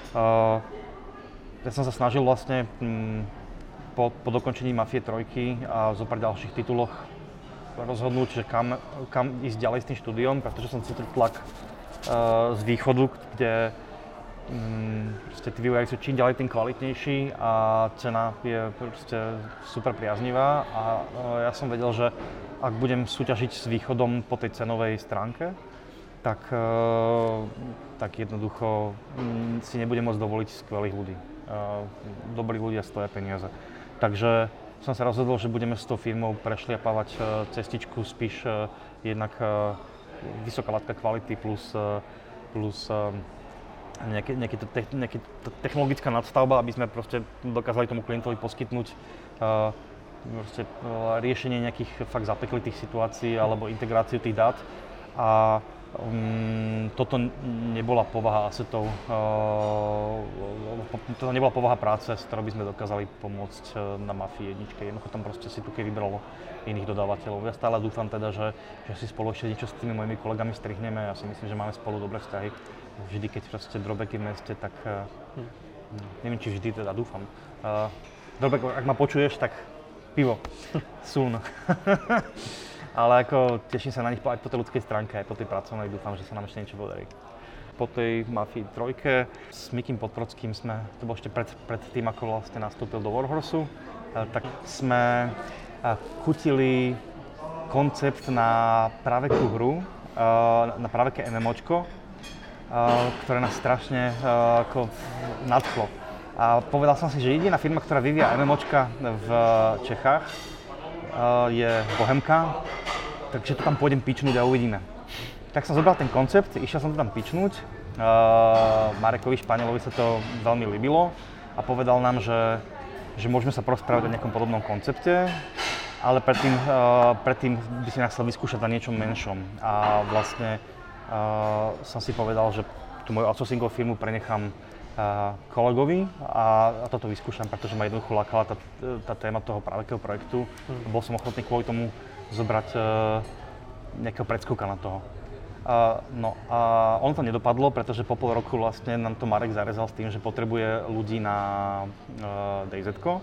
ja som sa snažil vlastne po dokončení Mafie 3 a zo pár ďalších tituloch rozhodnúť, že kam ísť ďalej s tým štúdiom, pretože som cítil tlak z východu, kde tí vývojári sú čím ďalej tým kvalitnejší a cena je proste super priaznivá a ja som vedel, že ak budem súťažiť s východom po tej cenovej stránke, tak jednoducho si nebudem môcť dovoliť skvelých ľudí. Dobrí ľudia stoja peniaze. Takže som sa rozhodol, že budeme s tou firmou prešliapávať cestičku spíš jednak vysoká látka kvality plus nejaká technologická nadstavba, aby sme proste dokázali tomu klientovi poskytnúť riešenie nejakých fakt zapeklitých situácií alebo integráciu tých dát. A toto nebola povaha assetov, to nebola povaha práce, s ktorou by sme dokázali pomôcť na Mafii 1. Jednoducho tam proste si Tukej vybralo iných dodávateľov. Ja stále dúfam teda, že si spolu ešte niečo s tými mojimi kolegami strihneme. Ja si myslím, že máme spolu dobré vzťahy. Vždy, keď proste Drobek je v meste, tak neviem, či vždy teda dúfam. Drobek, ak ma počuješ, tak pivo, soon. Ale ako teším sa na nich aj po tej ľudskej stránke, aj po tej pracovnej, dúfam, že sa nám ešte niečo podarí. Po tej Mafii 3 s Mikim Podbrodským to bolo ešte pred tým, ako vlastne nastúpil do Warhorsu, tak sme kutili koncept na pravekú hru, na praveké MMOčko, ktoré nás strašne nadchlo. A povedal som si, že jediná firma, ktorá vyvíja MMOčka v Čechách, je Bohemka, takže to tam pôjdem pičnúť a uvidíme. Tak som zobral ten koncept, išiel som to tam pičnúť. Marekovi Španielovi sa to veľmi ľúbilo a povedal nám, že môžeme sa porozprávať o nejakom podobnom koncepte, ale predtým by si nás chcel vyskúšať na niečom menšom. A vlastne som si povedal, že tú moju outsourcingovú firmu prenechám kolegovi a toto vyskúšam, pretože ma jednoducho lákala tá téma toho pravekého projektu. Bol som ochotný kvôli tomu zobrať nejakého predskúka na toho. No a ono to nedopadlo, pretože po pol roku vlastne nám to Marek zarezal s tým, že potrebuje ľudí na DayZ-ko.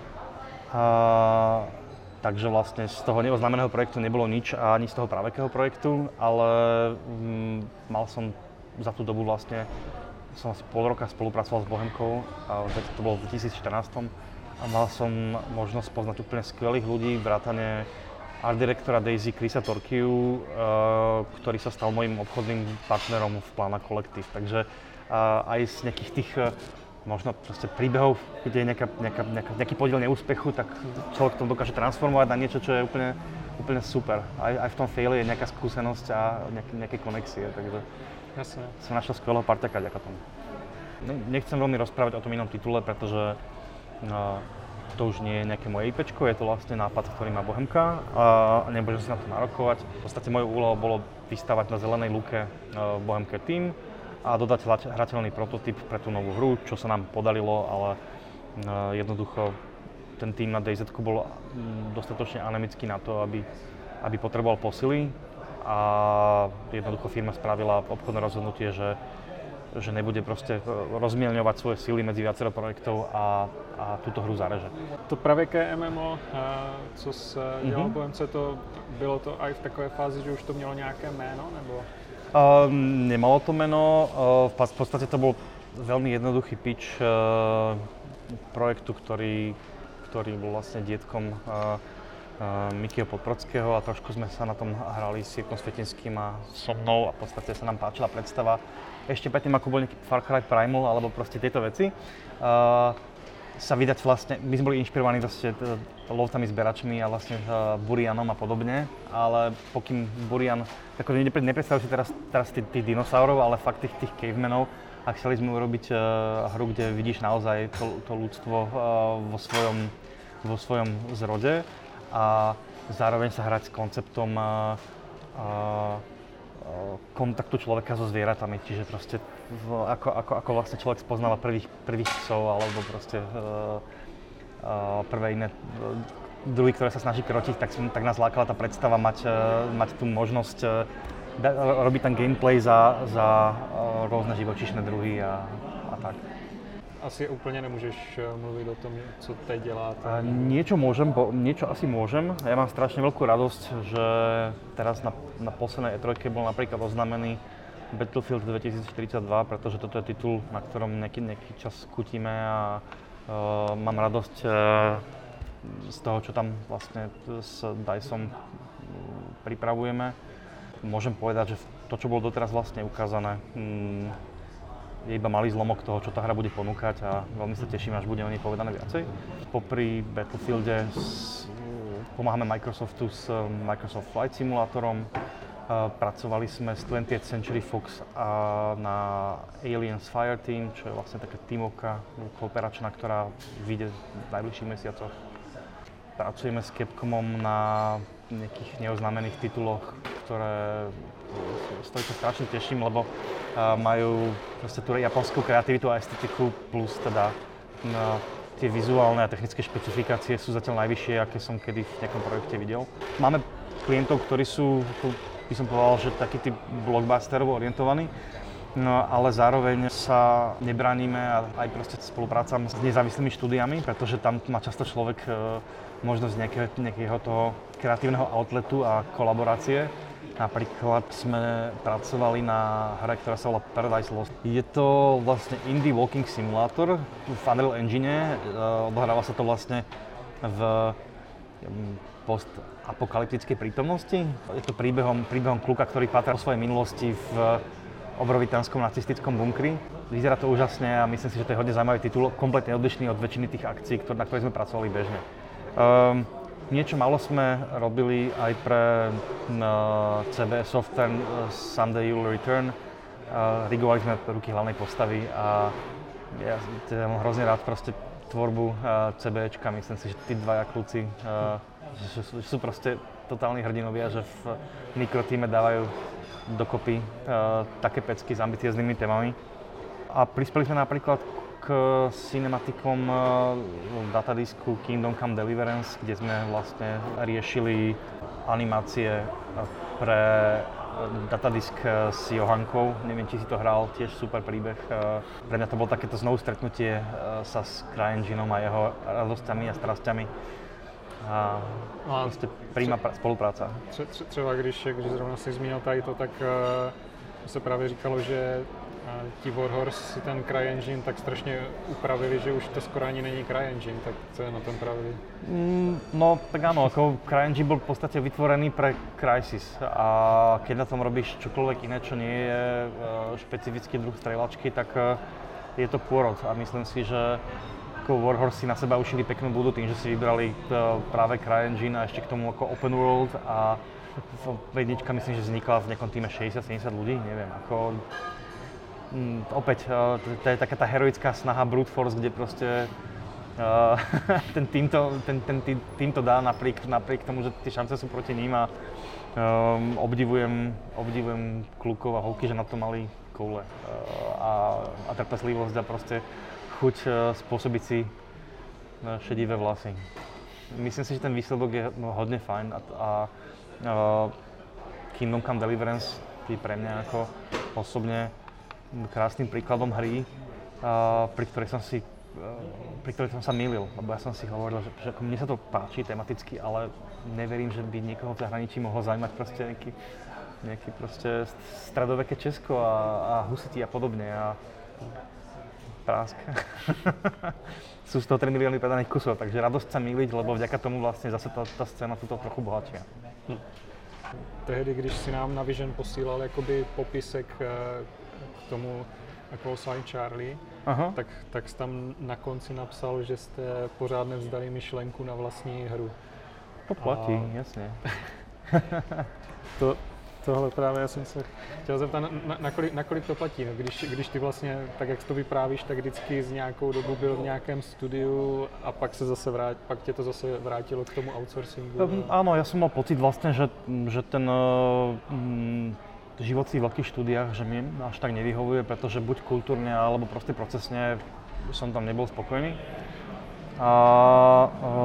Takže vlastne z toho neoznámeného projektu nebolo nič a ani z toho pravekého projektu, ale mal som za tú dobu vlastne som asi pol roka spolupracoval s Bohemkou, a to bolo v 2014 a mal som možnosť poznať úplne skvelých ľudí, vrátane art direktora Daisy Chrisa Torkiu, ktorý sa stal mojím obchodným partnerom v Plana Collective. Takže aj z nejakých tých možno proste príbehov, kde je nejaký podiel neúspechu, tak človek to dokáže transformovať na niečo, čo je úplne super. Aj v tom faili je nejaká skúsenosť a nejaké konexie, takže jasne. Som našiel skvelého parťaka ďaká tomu. Nechcem veľmi rozprávať o tom inom titule, pretože to už nie je nejaké moje IPčko, je to vlastne nápad, ktorý má Bohemka a nebudem sa na to nárokovať. V podstate mojou úlohou bolo vystavať na zelenej lúke Bohemke Team a dodať hrateľný prototyp pre tú novú hru, čo sa nám podarilo, ale jednoducho ten tým na DayZ-ku bol dostatočne anemický na to, aby potreboval posily. A jednoducho firma spravila obchodné rozhodnutie, že nebude proste rozmielňovať svoje síly medzi viacero projektov a túto hru zareže. To pravěké MMO, co se dělalo v Bohemce, bylo to aj v takové fázi, že už to mělo nějaké jméno, nebo? Nemalo to meno, v podstate to bol veľmi jednoduchý pitch projektu, ktorý bol vlastne dietkom Mikyho Podbrodského a trošku sme sa na tom hrali s Jirkom Svetinským a so mnou a v podstate sa nám páčila predstava. Ešte predtým, ako bol nejaký Far Cry Primal alebo proste tieto veci, sa vydať vlastne, my sme boli inšpirovaní vlastne lovcami, zberačmi a vlastne Burianom a podobne, ale pokým Burian, tako nepredstavujem si teraz tých dinosaurov, ale fakt tých cavemenov a chceli sme urobiť hru, kde vidíš naozaj to ľudstvo vo svojom zrode. A zároveň sa hrať s konceptom kontaktu človeka so zvieratami, čiže proste ako vlastne človek spoznáva prvých psov alebo proste prvé iné druhy, ktoré sa snaží krotiť, tak nás lákala tá predstava mať tú možnosť robiť ten gameplay za rôzne živočíšne druhy a tak. asi úplně nemůžeš mluvit o tom, co teď děláte. Niečo asi môžem. Ja mám strašne veľkú radosť, že teraz na poslednej E3 bol napríklad oznámený Battlefield 2042, pretože toto je titul, na ktorom nejaký čas kutíme a mám radosť z toho, čo tam vlastne s DICEom pripravujeme. Môžem povedať, že to, čo bolo doteraz vlastne ukázané, je iba malý zlomok toho, čo tá hra bude ponúkať a veľmi sa teším, až bude o nej povedané viacej. Popri Battlefielde pomáhame Microsoftu s Microsoft Flight Simulátorom. Pracovali sme s 20th Century Fox na Aliens Fireteam, čo je vlastne taká tímovka kooperačná, ktorá vyjde v najbližších mesiacoch. Pracujeme s Capcomom na nejakých neoznámených tituloch, z ktorých sa strašne teším, lebo majú proste tú japonskú kreativitu a estetiku plus teda tie vizuálne a technické špecifikácie sú zatiaľ najvyššie, aké som kedy v nejakom projekte videl. Máme klientov, ktorí sú, by som povedal, že taký typ blockbusterovo orientovaní, no ale zároveň sa nebránime a aj proste spoluprácam s nezávislými štúdiami, pretože tam má často človek možnosť nejakého toho kreatívneho outletu a kolaborácie. Napríklad sme pracovali na hre, ktorá sa volá Paradise Lost. Je to vlastne indie walking simulator v Unreal Engine. Odohráva sa to vlastne v postapokalyptickej prítomnosti. Je to príbehom kluka, ktorý pátra o svojej minulosti v obrovitánskom nacistickom bunkri. Vyzerá to úžasne a myslím si, že to je hodne zaujímavý titul, kompletne odlišný od väčšiny tých akcií, na ktorých sme pracovali bežne. Niečo málo sme robili aj pre CBS Software Someday You'll Return. Rigovali sme ruky hlavnej postavy a ja mám hrozne rád proste tvorbu CBčka. Myslím si, že tí dvaja kluci že sú proste totálni hrdinovia, že v mikrotíme dávajú dokopy také pecky s ambicióznymi témami. A prispeli sme napríklad k cinematikom datadisku Kingdom Come Deliverance, kde sme vlastne riešili animácie pre datadisk s Johankou. Neviem, či si to hral, tiež super príbeh. Pre mňa to bolo takéto znovu stretnutie sa s CryEngineom a jeho radosťami a strasťami. A prostě príjma spolupráca. Třeba když zrovna si zmínil tady to, tak se právě říkalo, že ti Warhorse si ten CryEngine tak strašně upravili, že už to skoro ani není CryEngine, tak co je na tom pravdy? No tak áno, ako CryEngine bol v podstate vytvorený pre Crysis a keď na tom robíš čokoľvek iné, čo nie je špecifický druh strieľačky, tak je to pôrod a myslím si, že Warhorse si na seba ušili peknú budu tým, že si vybrali práve CryEngine a ešte k tomu ako open world a jednička myslím, že vznikla v nejakom týme 60-70 ľudí, neviem, ako opäť, to je taká tá heroická snaha brute force, kde proste ten tým to dá napriek tomu, že tie šance sú proti ním a obdivujem klukov a holky, že na to mali koule a trpezlivosť a proste chuť spôsobiť si šedivé vlasy. Myslím si, že ten výsledok je hodne fajn a Kingdom Come Deliverance je pre mňa ako osobne krásnym príkladom hry, pri ktorej som sa mýlil, lebo ja som si hovoril, že mne sa to páči tematicky, ale neverím, že by niekoho v zahraničí mohlo zaujímať proste nejaký proste stredoveké Česko a husiti a podobne. A prásk. Sú z toho 3 milióny predaných kusov, takže radosť sa mýliť, lebo vďaka tomu vlastne zase tá scéna tu trochu bohatšia. Tehdy, když si nám na Vision posílal jakoby popisek k tomu Call Sign Charlie, tak jsi tam na konci napsal, že jste pořád nevzdali myšlenku na vlastní hru. To platí, jasně. Tohle právě já jsem se chtěl zeptat, nakolik to platí, no? Když ty vlastně, tak jak to vyprávíš, tak vždycky z nějakou dobu byl v nějakém studiu a pak tě to zase vrátilo k tomu outsourcingu? Áno, ja som mal pocit vlastne, že ten život v veľkých štúdiách, že mi až tak nevyhovuje, pretože buď kultúrne alebo proste procesne som tam nebol spokojný. A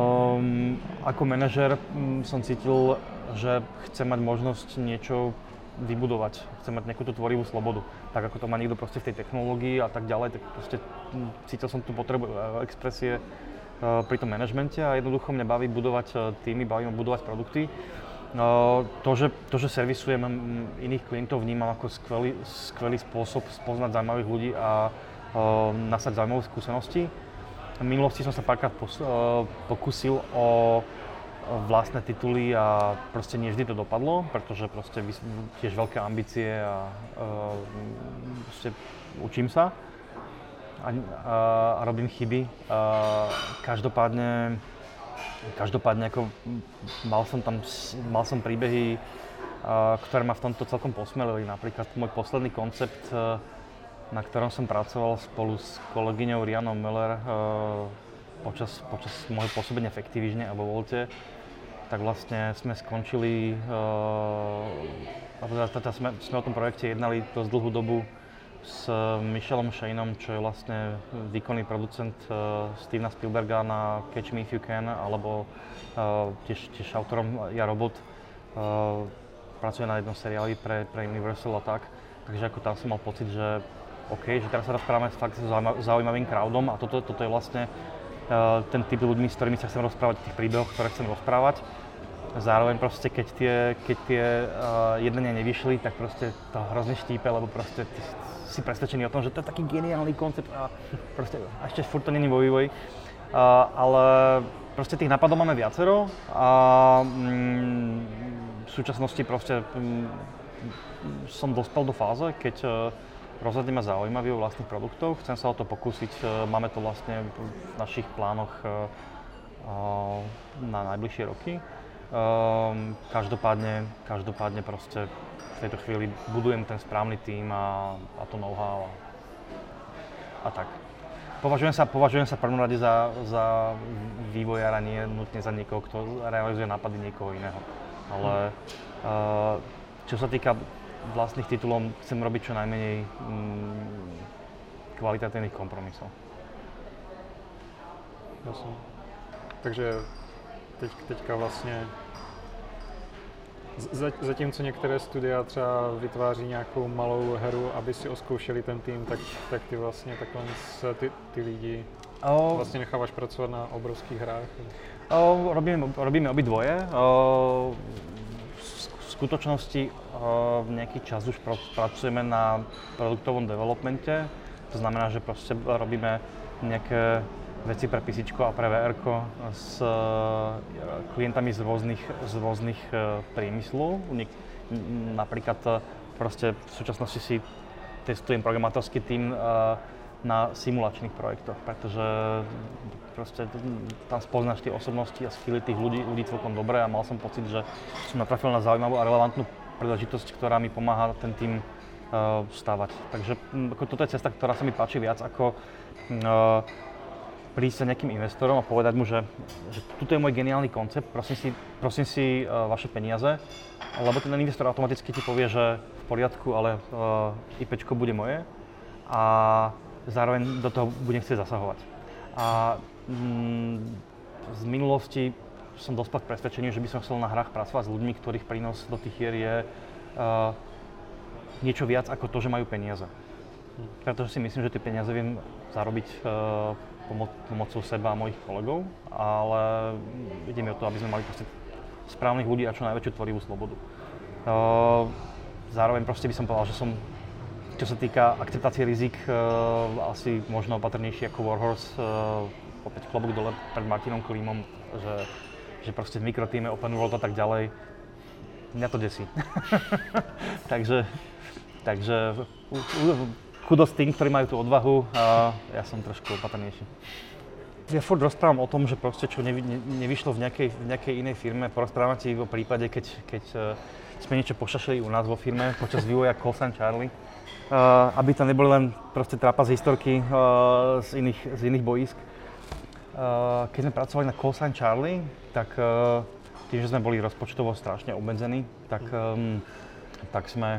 ako manažer som cítil, že chcem mať možnosť niečo vybudovať, chcem mať nejakú tú tvorivú slobodu. Tak ako to má niekto proste v tej technológii a tak ďalej, tak proste cítil som tú potrebu expresie pri tom manažmente a jednoducho mňa baví budovať týmy, baví ma budovať produkty. To, že servisujem iných klientov, vnímam ako skvelý spôsob spoznať zaujímavých ľudí a nasať zaujímavé skúsenosti. V minulosti som sa párkrát pokúsil o vlastné tituly a proste nie vždy to dopadlo, pretože proste tiež veľké ambície a proste učím sa a robím chyby. Každopádne ako mal som príbehy, ktoré ma v tomto celkom posmelili. Napríklad môj posledný koncept, na ktorom som pracoval spolu s kolegyňou Rianou Müller počas môjho pôsobenia v Activisione a vo Volte, tak vlastne sme skončili, sme o tom projekte jednali dosť dlhú dobu s Michelom Shaneom, čo je vlastne výkonný producent Stevena Spielberga na Catch Me If You Can, alebo tiež autorom Ja Robot. Pracuje na jednom seriáli pre Universal a tak. Takže ako tam som mal pocit, že OK, že teraz sa rozprávame fakt s zaujímavým crowdom a toto je vlastne ten typ ľuďmi, s ktorými sa chcem rozprávať, tých príbehoch, ktoré chcem rozprávať. Zároveň proste, keď tie jednania nevyšli, tak proste to hrozne štípe, lebo proste si presvedčený o tom, že to je taký geniálny koncept a proste ešte furt to není vo vývoji. Ale proste tých nápadov máme viacero a v súčasnosti proste som dospel do fáze, keď rozhodne ma zaujímavý o vlastných produktoch, chcem sa o to pokúsiť, máme to vlastne v našich plánoch na najbližšie roky. Každopádne proste v tejto chvíli budujem ten správny tím a to know-how a tak. Považujem sa v prvom rade za vývojára, nie nutne za niekoho, kto realizuje nápady niekoho iného. Ale čo sa týka vlastných titulov, chcem robiť čo najmenej kvalitatívnych kompromisov. Jasně. Takže teďka vlastně zatímco některé studia třeba vytváří nějakou malou hru, aby si oskoušeli ten tým, tak ty vlastně takhle ty lidi vlastně necháváš pracovat na obrovských hrách? Robíme obidvoje. V skutočnosti v nejaký čas už pracujeme na produktovom developmente. To znamená, že proste robíme nejaké veci pre PCčko a pre VR-ko s klientami z rôznych priemyslov. Napríklad proste v súčasnosti si testujem programátorský tím na simulačných projektoch, pretože proste tam spoznáš tie osobnosti a skilly tých ľudí celkom dobre a mal som pocit, že som natrafil na zaujímavú a relevantnú príležitosť, ktorá mi pomáha ten tím stavať. Takže toto je cesta, ktorá sa mi páči viac ako prísť sa nejakým investorom a povedať mu, že tuto je môj geniálny koncept, prosím si vaše peniaze, lebo ten investor automaticky ti povie, že v poriadku, ale IPčko bude moje a zároveň do toho budem chcieť zasahovať. A z minulosti som dospel k presvedčeniu, že by som chcel na hrách pracovať s ľuďmi, ktorých prínos do tých hier je niečo viac ako to, že majú peniaze. Pretože si myslím, že tie peniaze viem zarobiť pomocou seba a mojich kolegov, ale ide mi o to, aby sme mali proste správnych ľudí a čo najväčšiu tvorivú slobodu. Zároveň proste by som povedal, že som, čo sa týka akceptácie rizik, asi možno opatrnejší ako Warhorse, opäť klobúk dole pred Martinom Klimom, že proste v mikrotíme, open world a tak ďalej, mňa to desí. takže kudos tým, ktorí majú tú odvahu, a ja som trošku opatrnejší. Ja furt rozprávam o tom, že proste čo nevyšlo v nejakej inej firme, porozprávam ti o prípade, keď sme niečo pošašili u nás vo firme počas vývoja Call Sign Charlie. Aby tam neboli len proste trápa z historky z iných bojísk. Keď sme pracovali na Call Sign Charlie, tak tým, že sme boli rozpočtovo strašne obmedzení, tak sme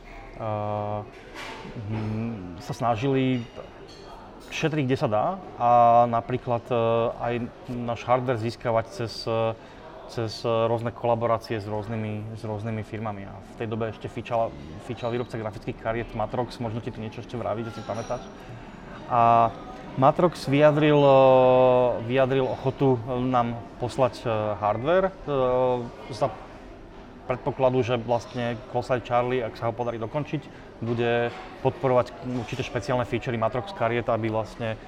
sa snažili šetriť, kde sa dá a napríklad aj náš hardware získavať cez cez rôzne kolaborácie s rôznymi firmami. A v tej dobe ešte fičal výrobca grafických kariet Matrox, možno ti to niečo ešte vraví, že si pamätáš. A Matrox vyjadril ochotu nám poslať hardware za predpokladu, že vlastne Close Eye Charlie, ak sa ho podarí dokončiť, bude podporovať určité špeciálne featurey Matrox kariet, aby vlastne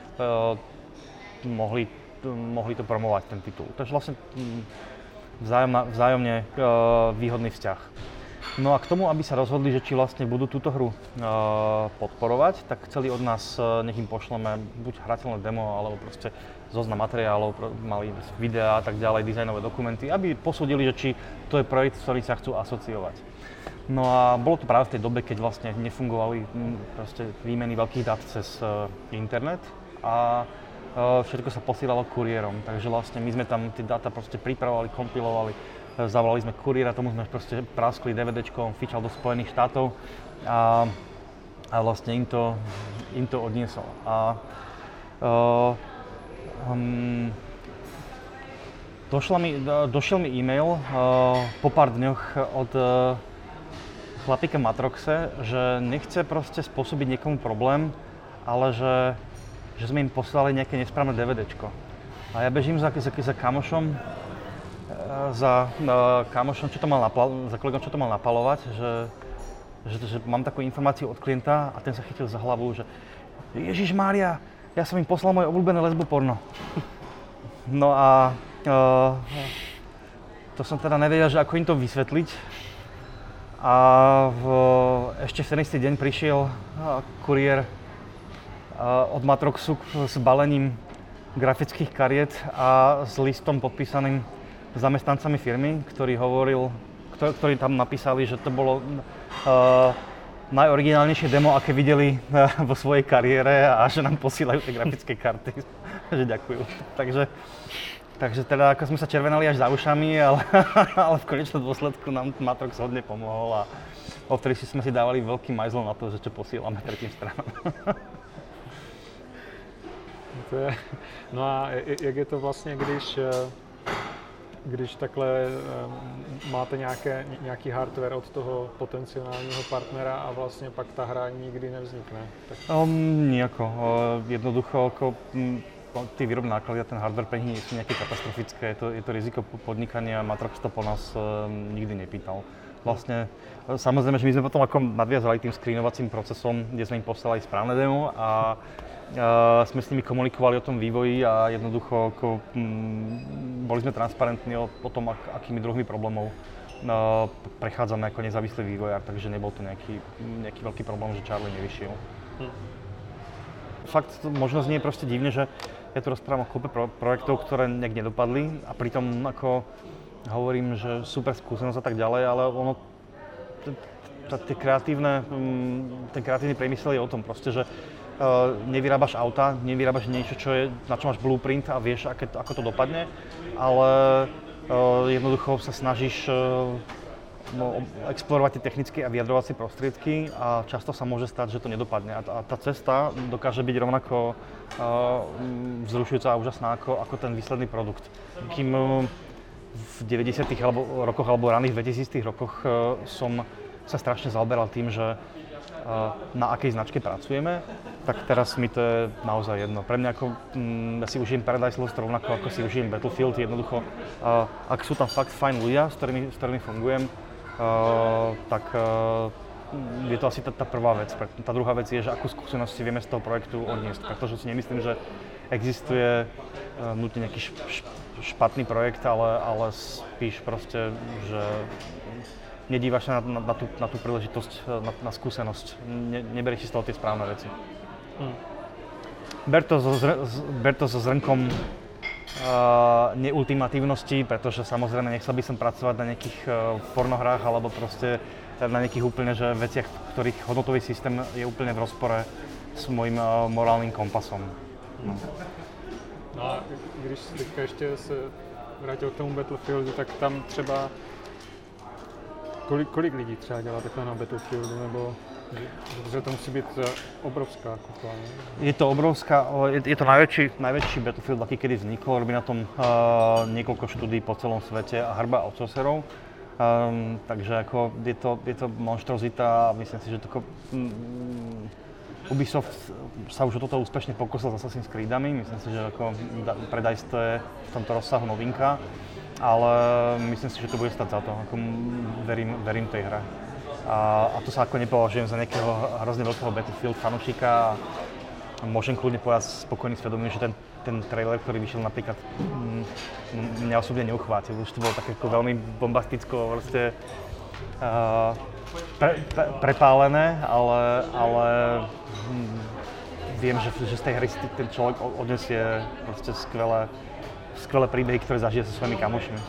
mohli to promovať, ten titul. Takže vlastne vzájomne výhodný vzťah. No a k tomu, aby sa rozhodli, že či vlastne budú túto hru podporovať, tak chceli od nás, nech im pošleme buď hrateľné demo, alebo proste zoznam materiálov, mali videá a tak ďalej, dizajnové dokumenty, aby posúdili, že či to je projekt, ktorý sa chcú asociovať. No a bolo to práve v tej dobe, keď vlastne nefungovali proste výmeny veľkých dát cez internet a všetko sa posielalo kuriérom, takže vlastne my sme tam tie dáta proste pripravovali, kompilovali, zavolali sme kuriéra, tomu sme proste praskli DVDčkom, fičal do Spojených štátov a vlastne im to odniesol. A došiel mi e-mail po pár dňoch od chlapíka Matroxe, že nechce proste spôsobiť niekomu problém, ale že sme im poslali nejaké nesprávne DVDčko. A ja bežím za kamošom, za kolegom, čo to mal napalovať, že mám takú informáciu od klienta a ten sa chytil za hlavu, že Ježišmária, ja som im poslal moje obľúbené lesboporno. No a to som teda nevedel, že ako im to vysvetliť. A ešte v ten istý deň prišiel kuriér od Matroxu s balením grafických kariet a s listom podpísaným zamestnancami firmy, ktorí tam napísali, že to bolo najoriginálnejšie demo, aké videli vo svojej kariére a že nám posílajú tie grafické karty, že ďakujú. Takže teda ako sme sa červenali až za ušami, ale v konečnom dôsledku nám Matrox hodne pomohol a odtedy sme si dávali veľký majzl na to, že čo posílame tretím stranám. No a jak je to vlastně, když takhle máte nějaký hardware od toho potenciálního partnera a vlastně pak ta hra nikdy nevznikne? Tak... Nijako. Jednoducho, tí výrobné náklady a ten hardware pre nich nie sú nejaké katastrofické. Je to riziko podnikania, Matrox to po nás nikdy nepýtal. Vlastne, samozrejme, že my sme potom ako nadviazali tým screenovacím procesom, kde sme im poslali správne demo a sme s nimi komunikovali o tom vývoji a jednoducho boli sme transparentní o tom, akými druhými problémov prechádzame ako nezávislý vývojár, takže nebol to nejaký veľký problém, že Charlie nevyšiel. Fakt možno znie proste divne, že ja tu rozprávam o kúpe projektov, ktoré nejak nedopadli a pritom ako hovorím, že super skúsenosť a tak ďalej, ale ono, ten kreatívny priemysel je o tom proste, že nevyrábaš auta, nevyrábaš niečo, na čo máš blueprint a vieš, ako to dopadne, ale jednoducho sa snažíš explorovať tie technické a vyjadrovacie prostriedky a často sa môže stať, že to nedopadne. A tá cesta dokáže byť rovnako vzrušujúca a úžasná ako ten výsledný produkt. Kým v 90. rokoch alebo raných 2000. rokoch som sa strašne zaoberal tým, že na akej značke pracujeme, tak teraz mi to je naozaj jedno. Pre mňa ja si užijem Paradise Lost rovnako ako si užijem Battlefield. Jednoducho, ak sú tam fakt fajn ľudia, s ktorými fungujem, tak je to asi tá prvá vec. Tá druhá vec je, že akú skúsenosť si vieme z toho projektu odniesť, pretože si nemyslím, že existuje nutne nejaký špatný projekt, ale spíš proste, že nedívaš sa na tú príležitosť, na skúsenosť, neberieš si z toho tie správne veci. Ber to so zrnkom neultimatívnosti, pretože samozrejme nechcel by som pracovať na nejakých pornohrách alebo proste na nejakých úplne že veciach, ktorých hodnotový systém je úplne v rozpore s môjim morálnym kompasom. No a když teďka ještě se vrátil k tomu Battlefieldu, tak tam třeba kolik lidí třeba dělá takhle na Battlefieldu, nebo Že to musí být obrovská kupa. Je to obrovská, je to najväčší Battlefield, aký kedy vznikol. Robí na tom niekoľko štúdií po celom svete a hrba outsourcerov. Takže ako je to monštrozita a myslím si, že Ubisoft sa už o toto úspešne pokusil s Assassin's Creedami. Myslím si, že ako pre DICE to je v tomto rozsahu novinka, ale myslím si, že to bude stať za to. Ako verím tej hre. A to sa ako nepovažujem za nejakého hrozne veľkého Battlefield fanúšika. Môžem kľudne povedať spokojný svedomím, že ten trailer, ktorý vyšiel napríklad, mňa osobne neuchvátil. Už to bolo také ako veľmi bombasticko, proste prepálené, ale viem, že z tej hry ten človek odnesie proste skvelé príbehy, ktoré zažije so svojimi kamošmi.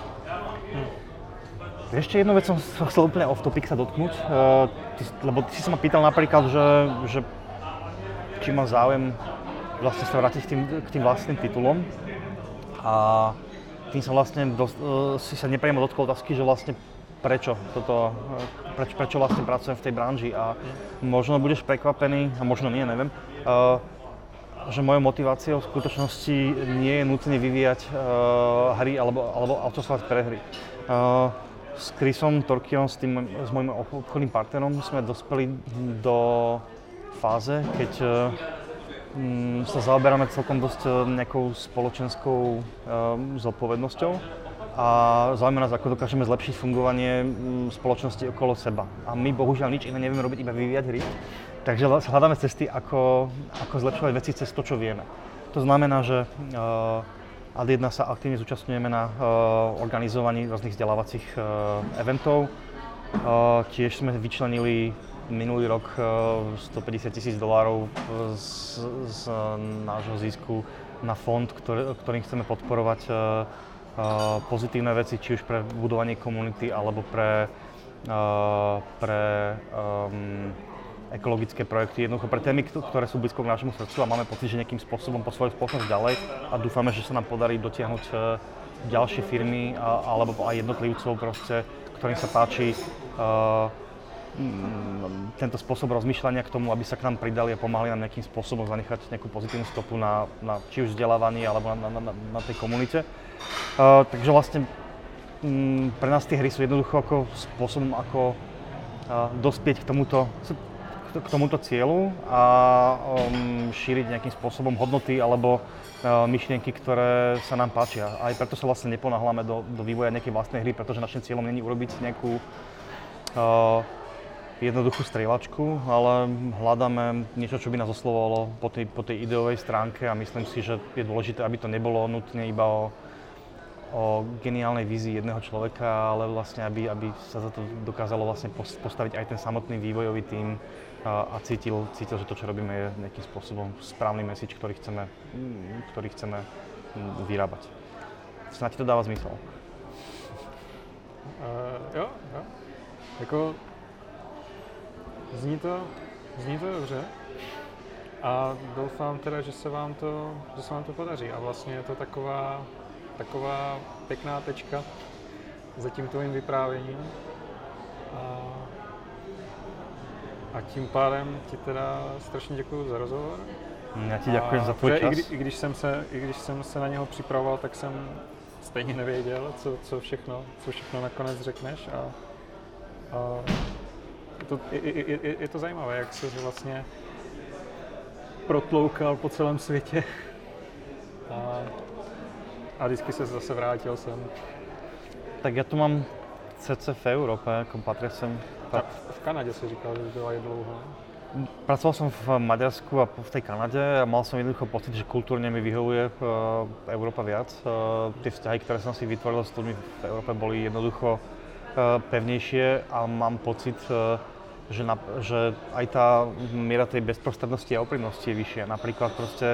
Ešte jednu vec som chcel úplne off topic sa dotknúť, lebo ty si sa ma pýtal napríklad, že či mám záujem vlastne sa vrátiť k tým vlastným titulom. A tým sa vlastne si sa nepriamo dotkol otázky, že vlastne prečo vlastne pracujem v tej branži. A možno budeš prekvapený, a možno nie, neviem, že mojou motiváciou v skutočnosti nie je nutne vyvíjať hry alebo outsourcovať pre hry. S Chrisom Torkiom, s môjim obchodným partnerom, sme dospeli do fáze, keď sa zaoberáme celkom dosť nejakou spoločenskou zodpovednosťou a zaujíma nás, ako dokážeme zlepšiť fungovanie spoločnosti okolo seba. A my bohužiaľ nič iné nevieme robiť, iba vyvíjať hry. Takže hľadáme cesty, ako zlepšovať veci cez to, čo vieme. To znamená, že Ad1 sa aktívne zúčastňujeme na organizovaní rôznych vzdelávacích eventov. Tiež sme vyčlenili minulý rok $150,000 z nášho zisku na fond, ktorým chceme podporovať pozitívne veci, či už pre budovanie komunity alebo pre ekologické projekty, jednoducho pre témy, ktoré sú blízko k nášmu srdcu a máme pocit, že nejakým spôsobom posúvajú spoločnosť ďalej a dúfame, že sa nám podarí dotiahnuť ďalšie firmy alebo aj jednotlivcov proste, ktorým sa páči tento spôsob rozmýšľania k tomu, aby sa k nám pridali a pomáhali nám nejakým spôsobom zanechať nejakú pozitívnu stopu na či už vzdelávaní alebo na tej komunite. Takže vlastne pre nás tie hry sú jednoducho ako spôsobom, ako dospieť k tomuto cieľu a šíriť nejakým spôsobom hodnoty alebo myšlienky, ktoré sa nám páčia. Aj preto sa vlastne neponáhľame do vývoja nejakej vlastnej hry, pretože našim cieľom nie je urobiť nejakú jednoduchú strieľačku, ale hľadáme niečo, čo by nás oslovovalo po tej ideovej stránke a myslím si, že je dôležité, aby to nebolo nutne iba o geniálnej vízii jedného človeka, ale vlastne, aby sa za to dokázalo vlastne postaviť aj ten samotný vývojový tím a cítil, že to, čo robíme, je nejakým spôsobom správny message, ktorý chceme vyrábať. Snáď to dáva zmysel. Jo. Jako zní to dobře a doufám teda, že se vám to podaří a vlastně je to taková pěkná tečka za tím tvojím vyprávěním a tím pádem ti teda strašně děkuju za rozhovor. Já ti děkuji za tvůj čas. I když jsem se na něho připravoval, tak jsem stejně nevěděl, co všechno nakonec řekneš a je to zajímavé, jak se vlastně protloukal po celém světě a vždycky se zase vrátil sem. Tak ja tu mám CC v Európe, ako patria sem. V Kanade si říkal, že byla aj dlouho. Pracoval som v Maďarsku a v tej Kanade a mal som jednoducho pocit, že kultúrne mi vyhovuje Európa viac. Tie vzťahy, ktoré som si vytvoril s ľuďmi v Európe, boli jednoducho pevnejšie a mám pocit, že aj tá miera tej bezprostrednosti a úprimnosti je vyššia. Napríklad proste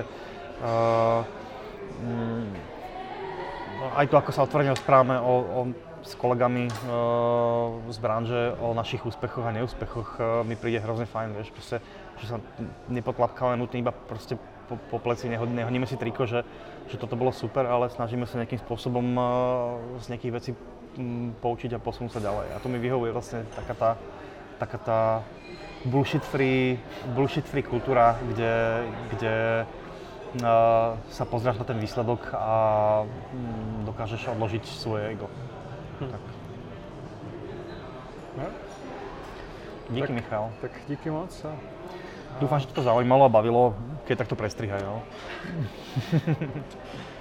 aj to, ako sa otvorene rozprávame s kolegami z branže o našich úspechoch a neúspechoch, mi príde hrozne fajn, vieš, proste, že sa nepotlapkáme nutne iba proste po pleci, nehodíme si triko, že toto bolo super, ale snažíme sa nejakým spôsobom z nejakých vecí poučiť a posunúť sa ďalej. A to mi vyhovuje vlastne taká tá bullshit-free kultúra, kde sa pozráš na ten výsledok a dokážeš odložiť svoje ego. Tak. No. Díky, Michal. Tak díky moc. Dúfam, že to zaujímalo a bavilo, keď takto prestrihaj. No?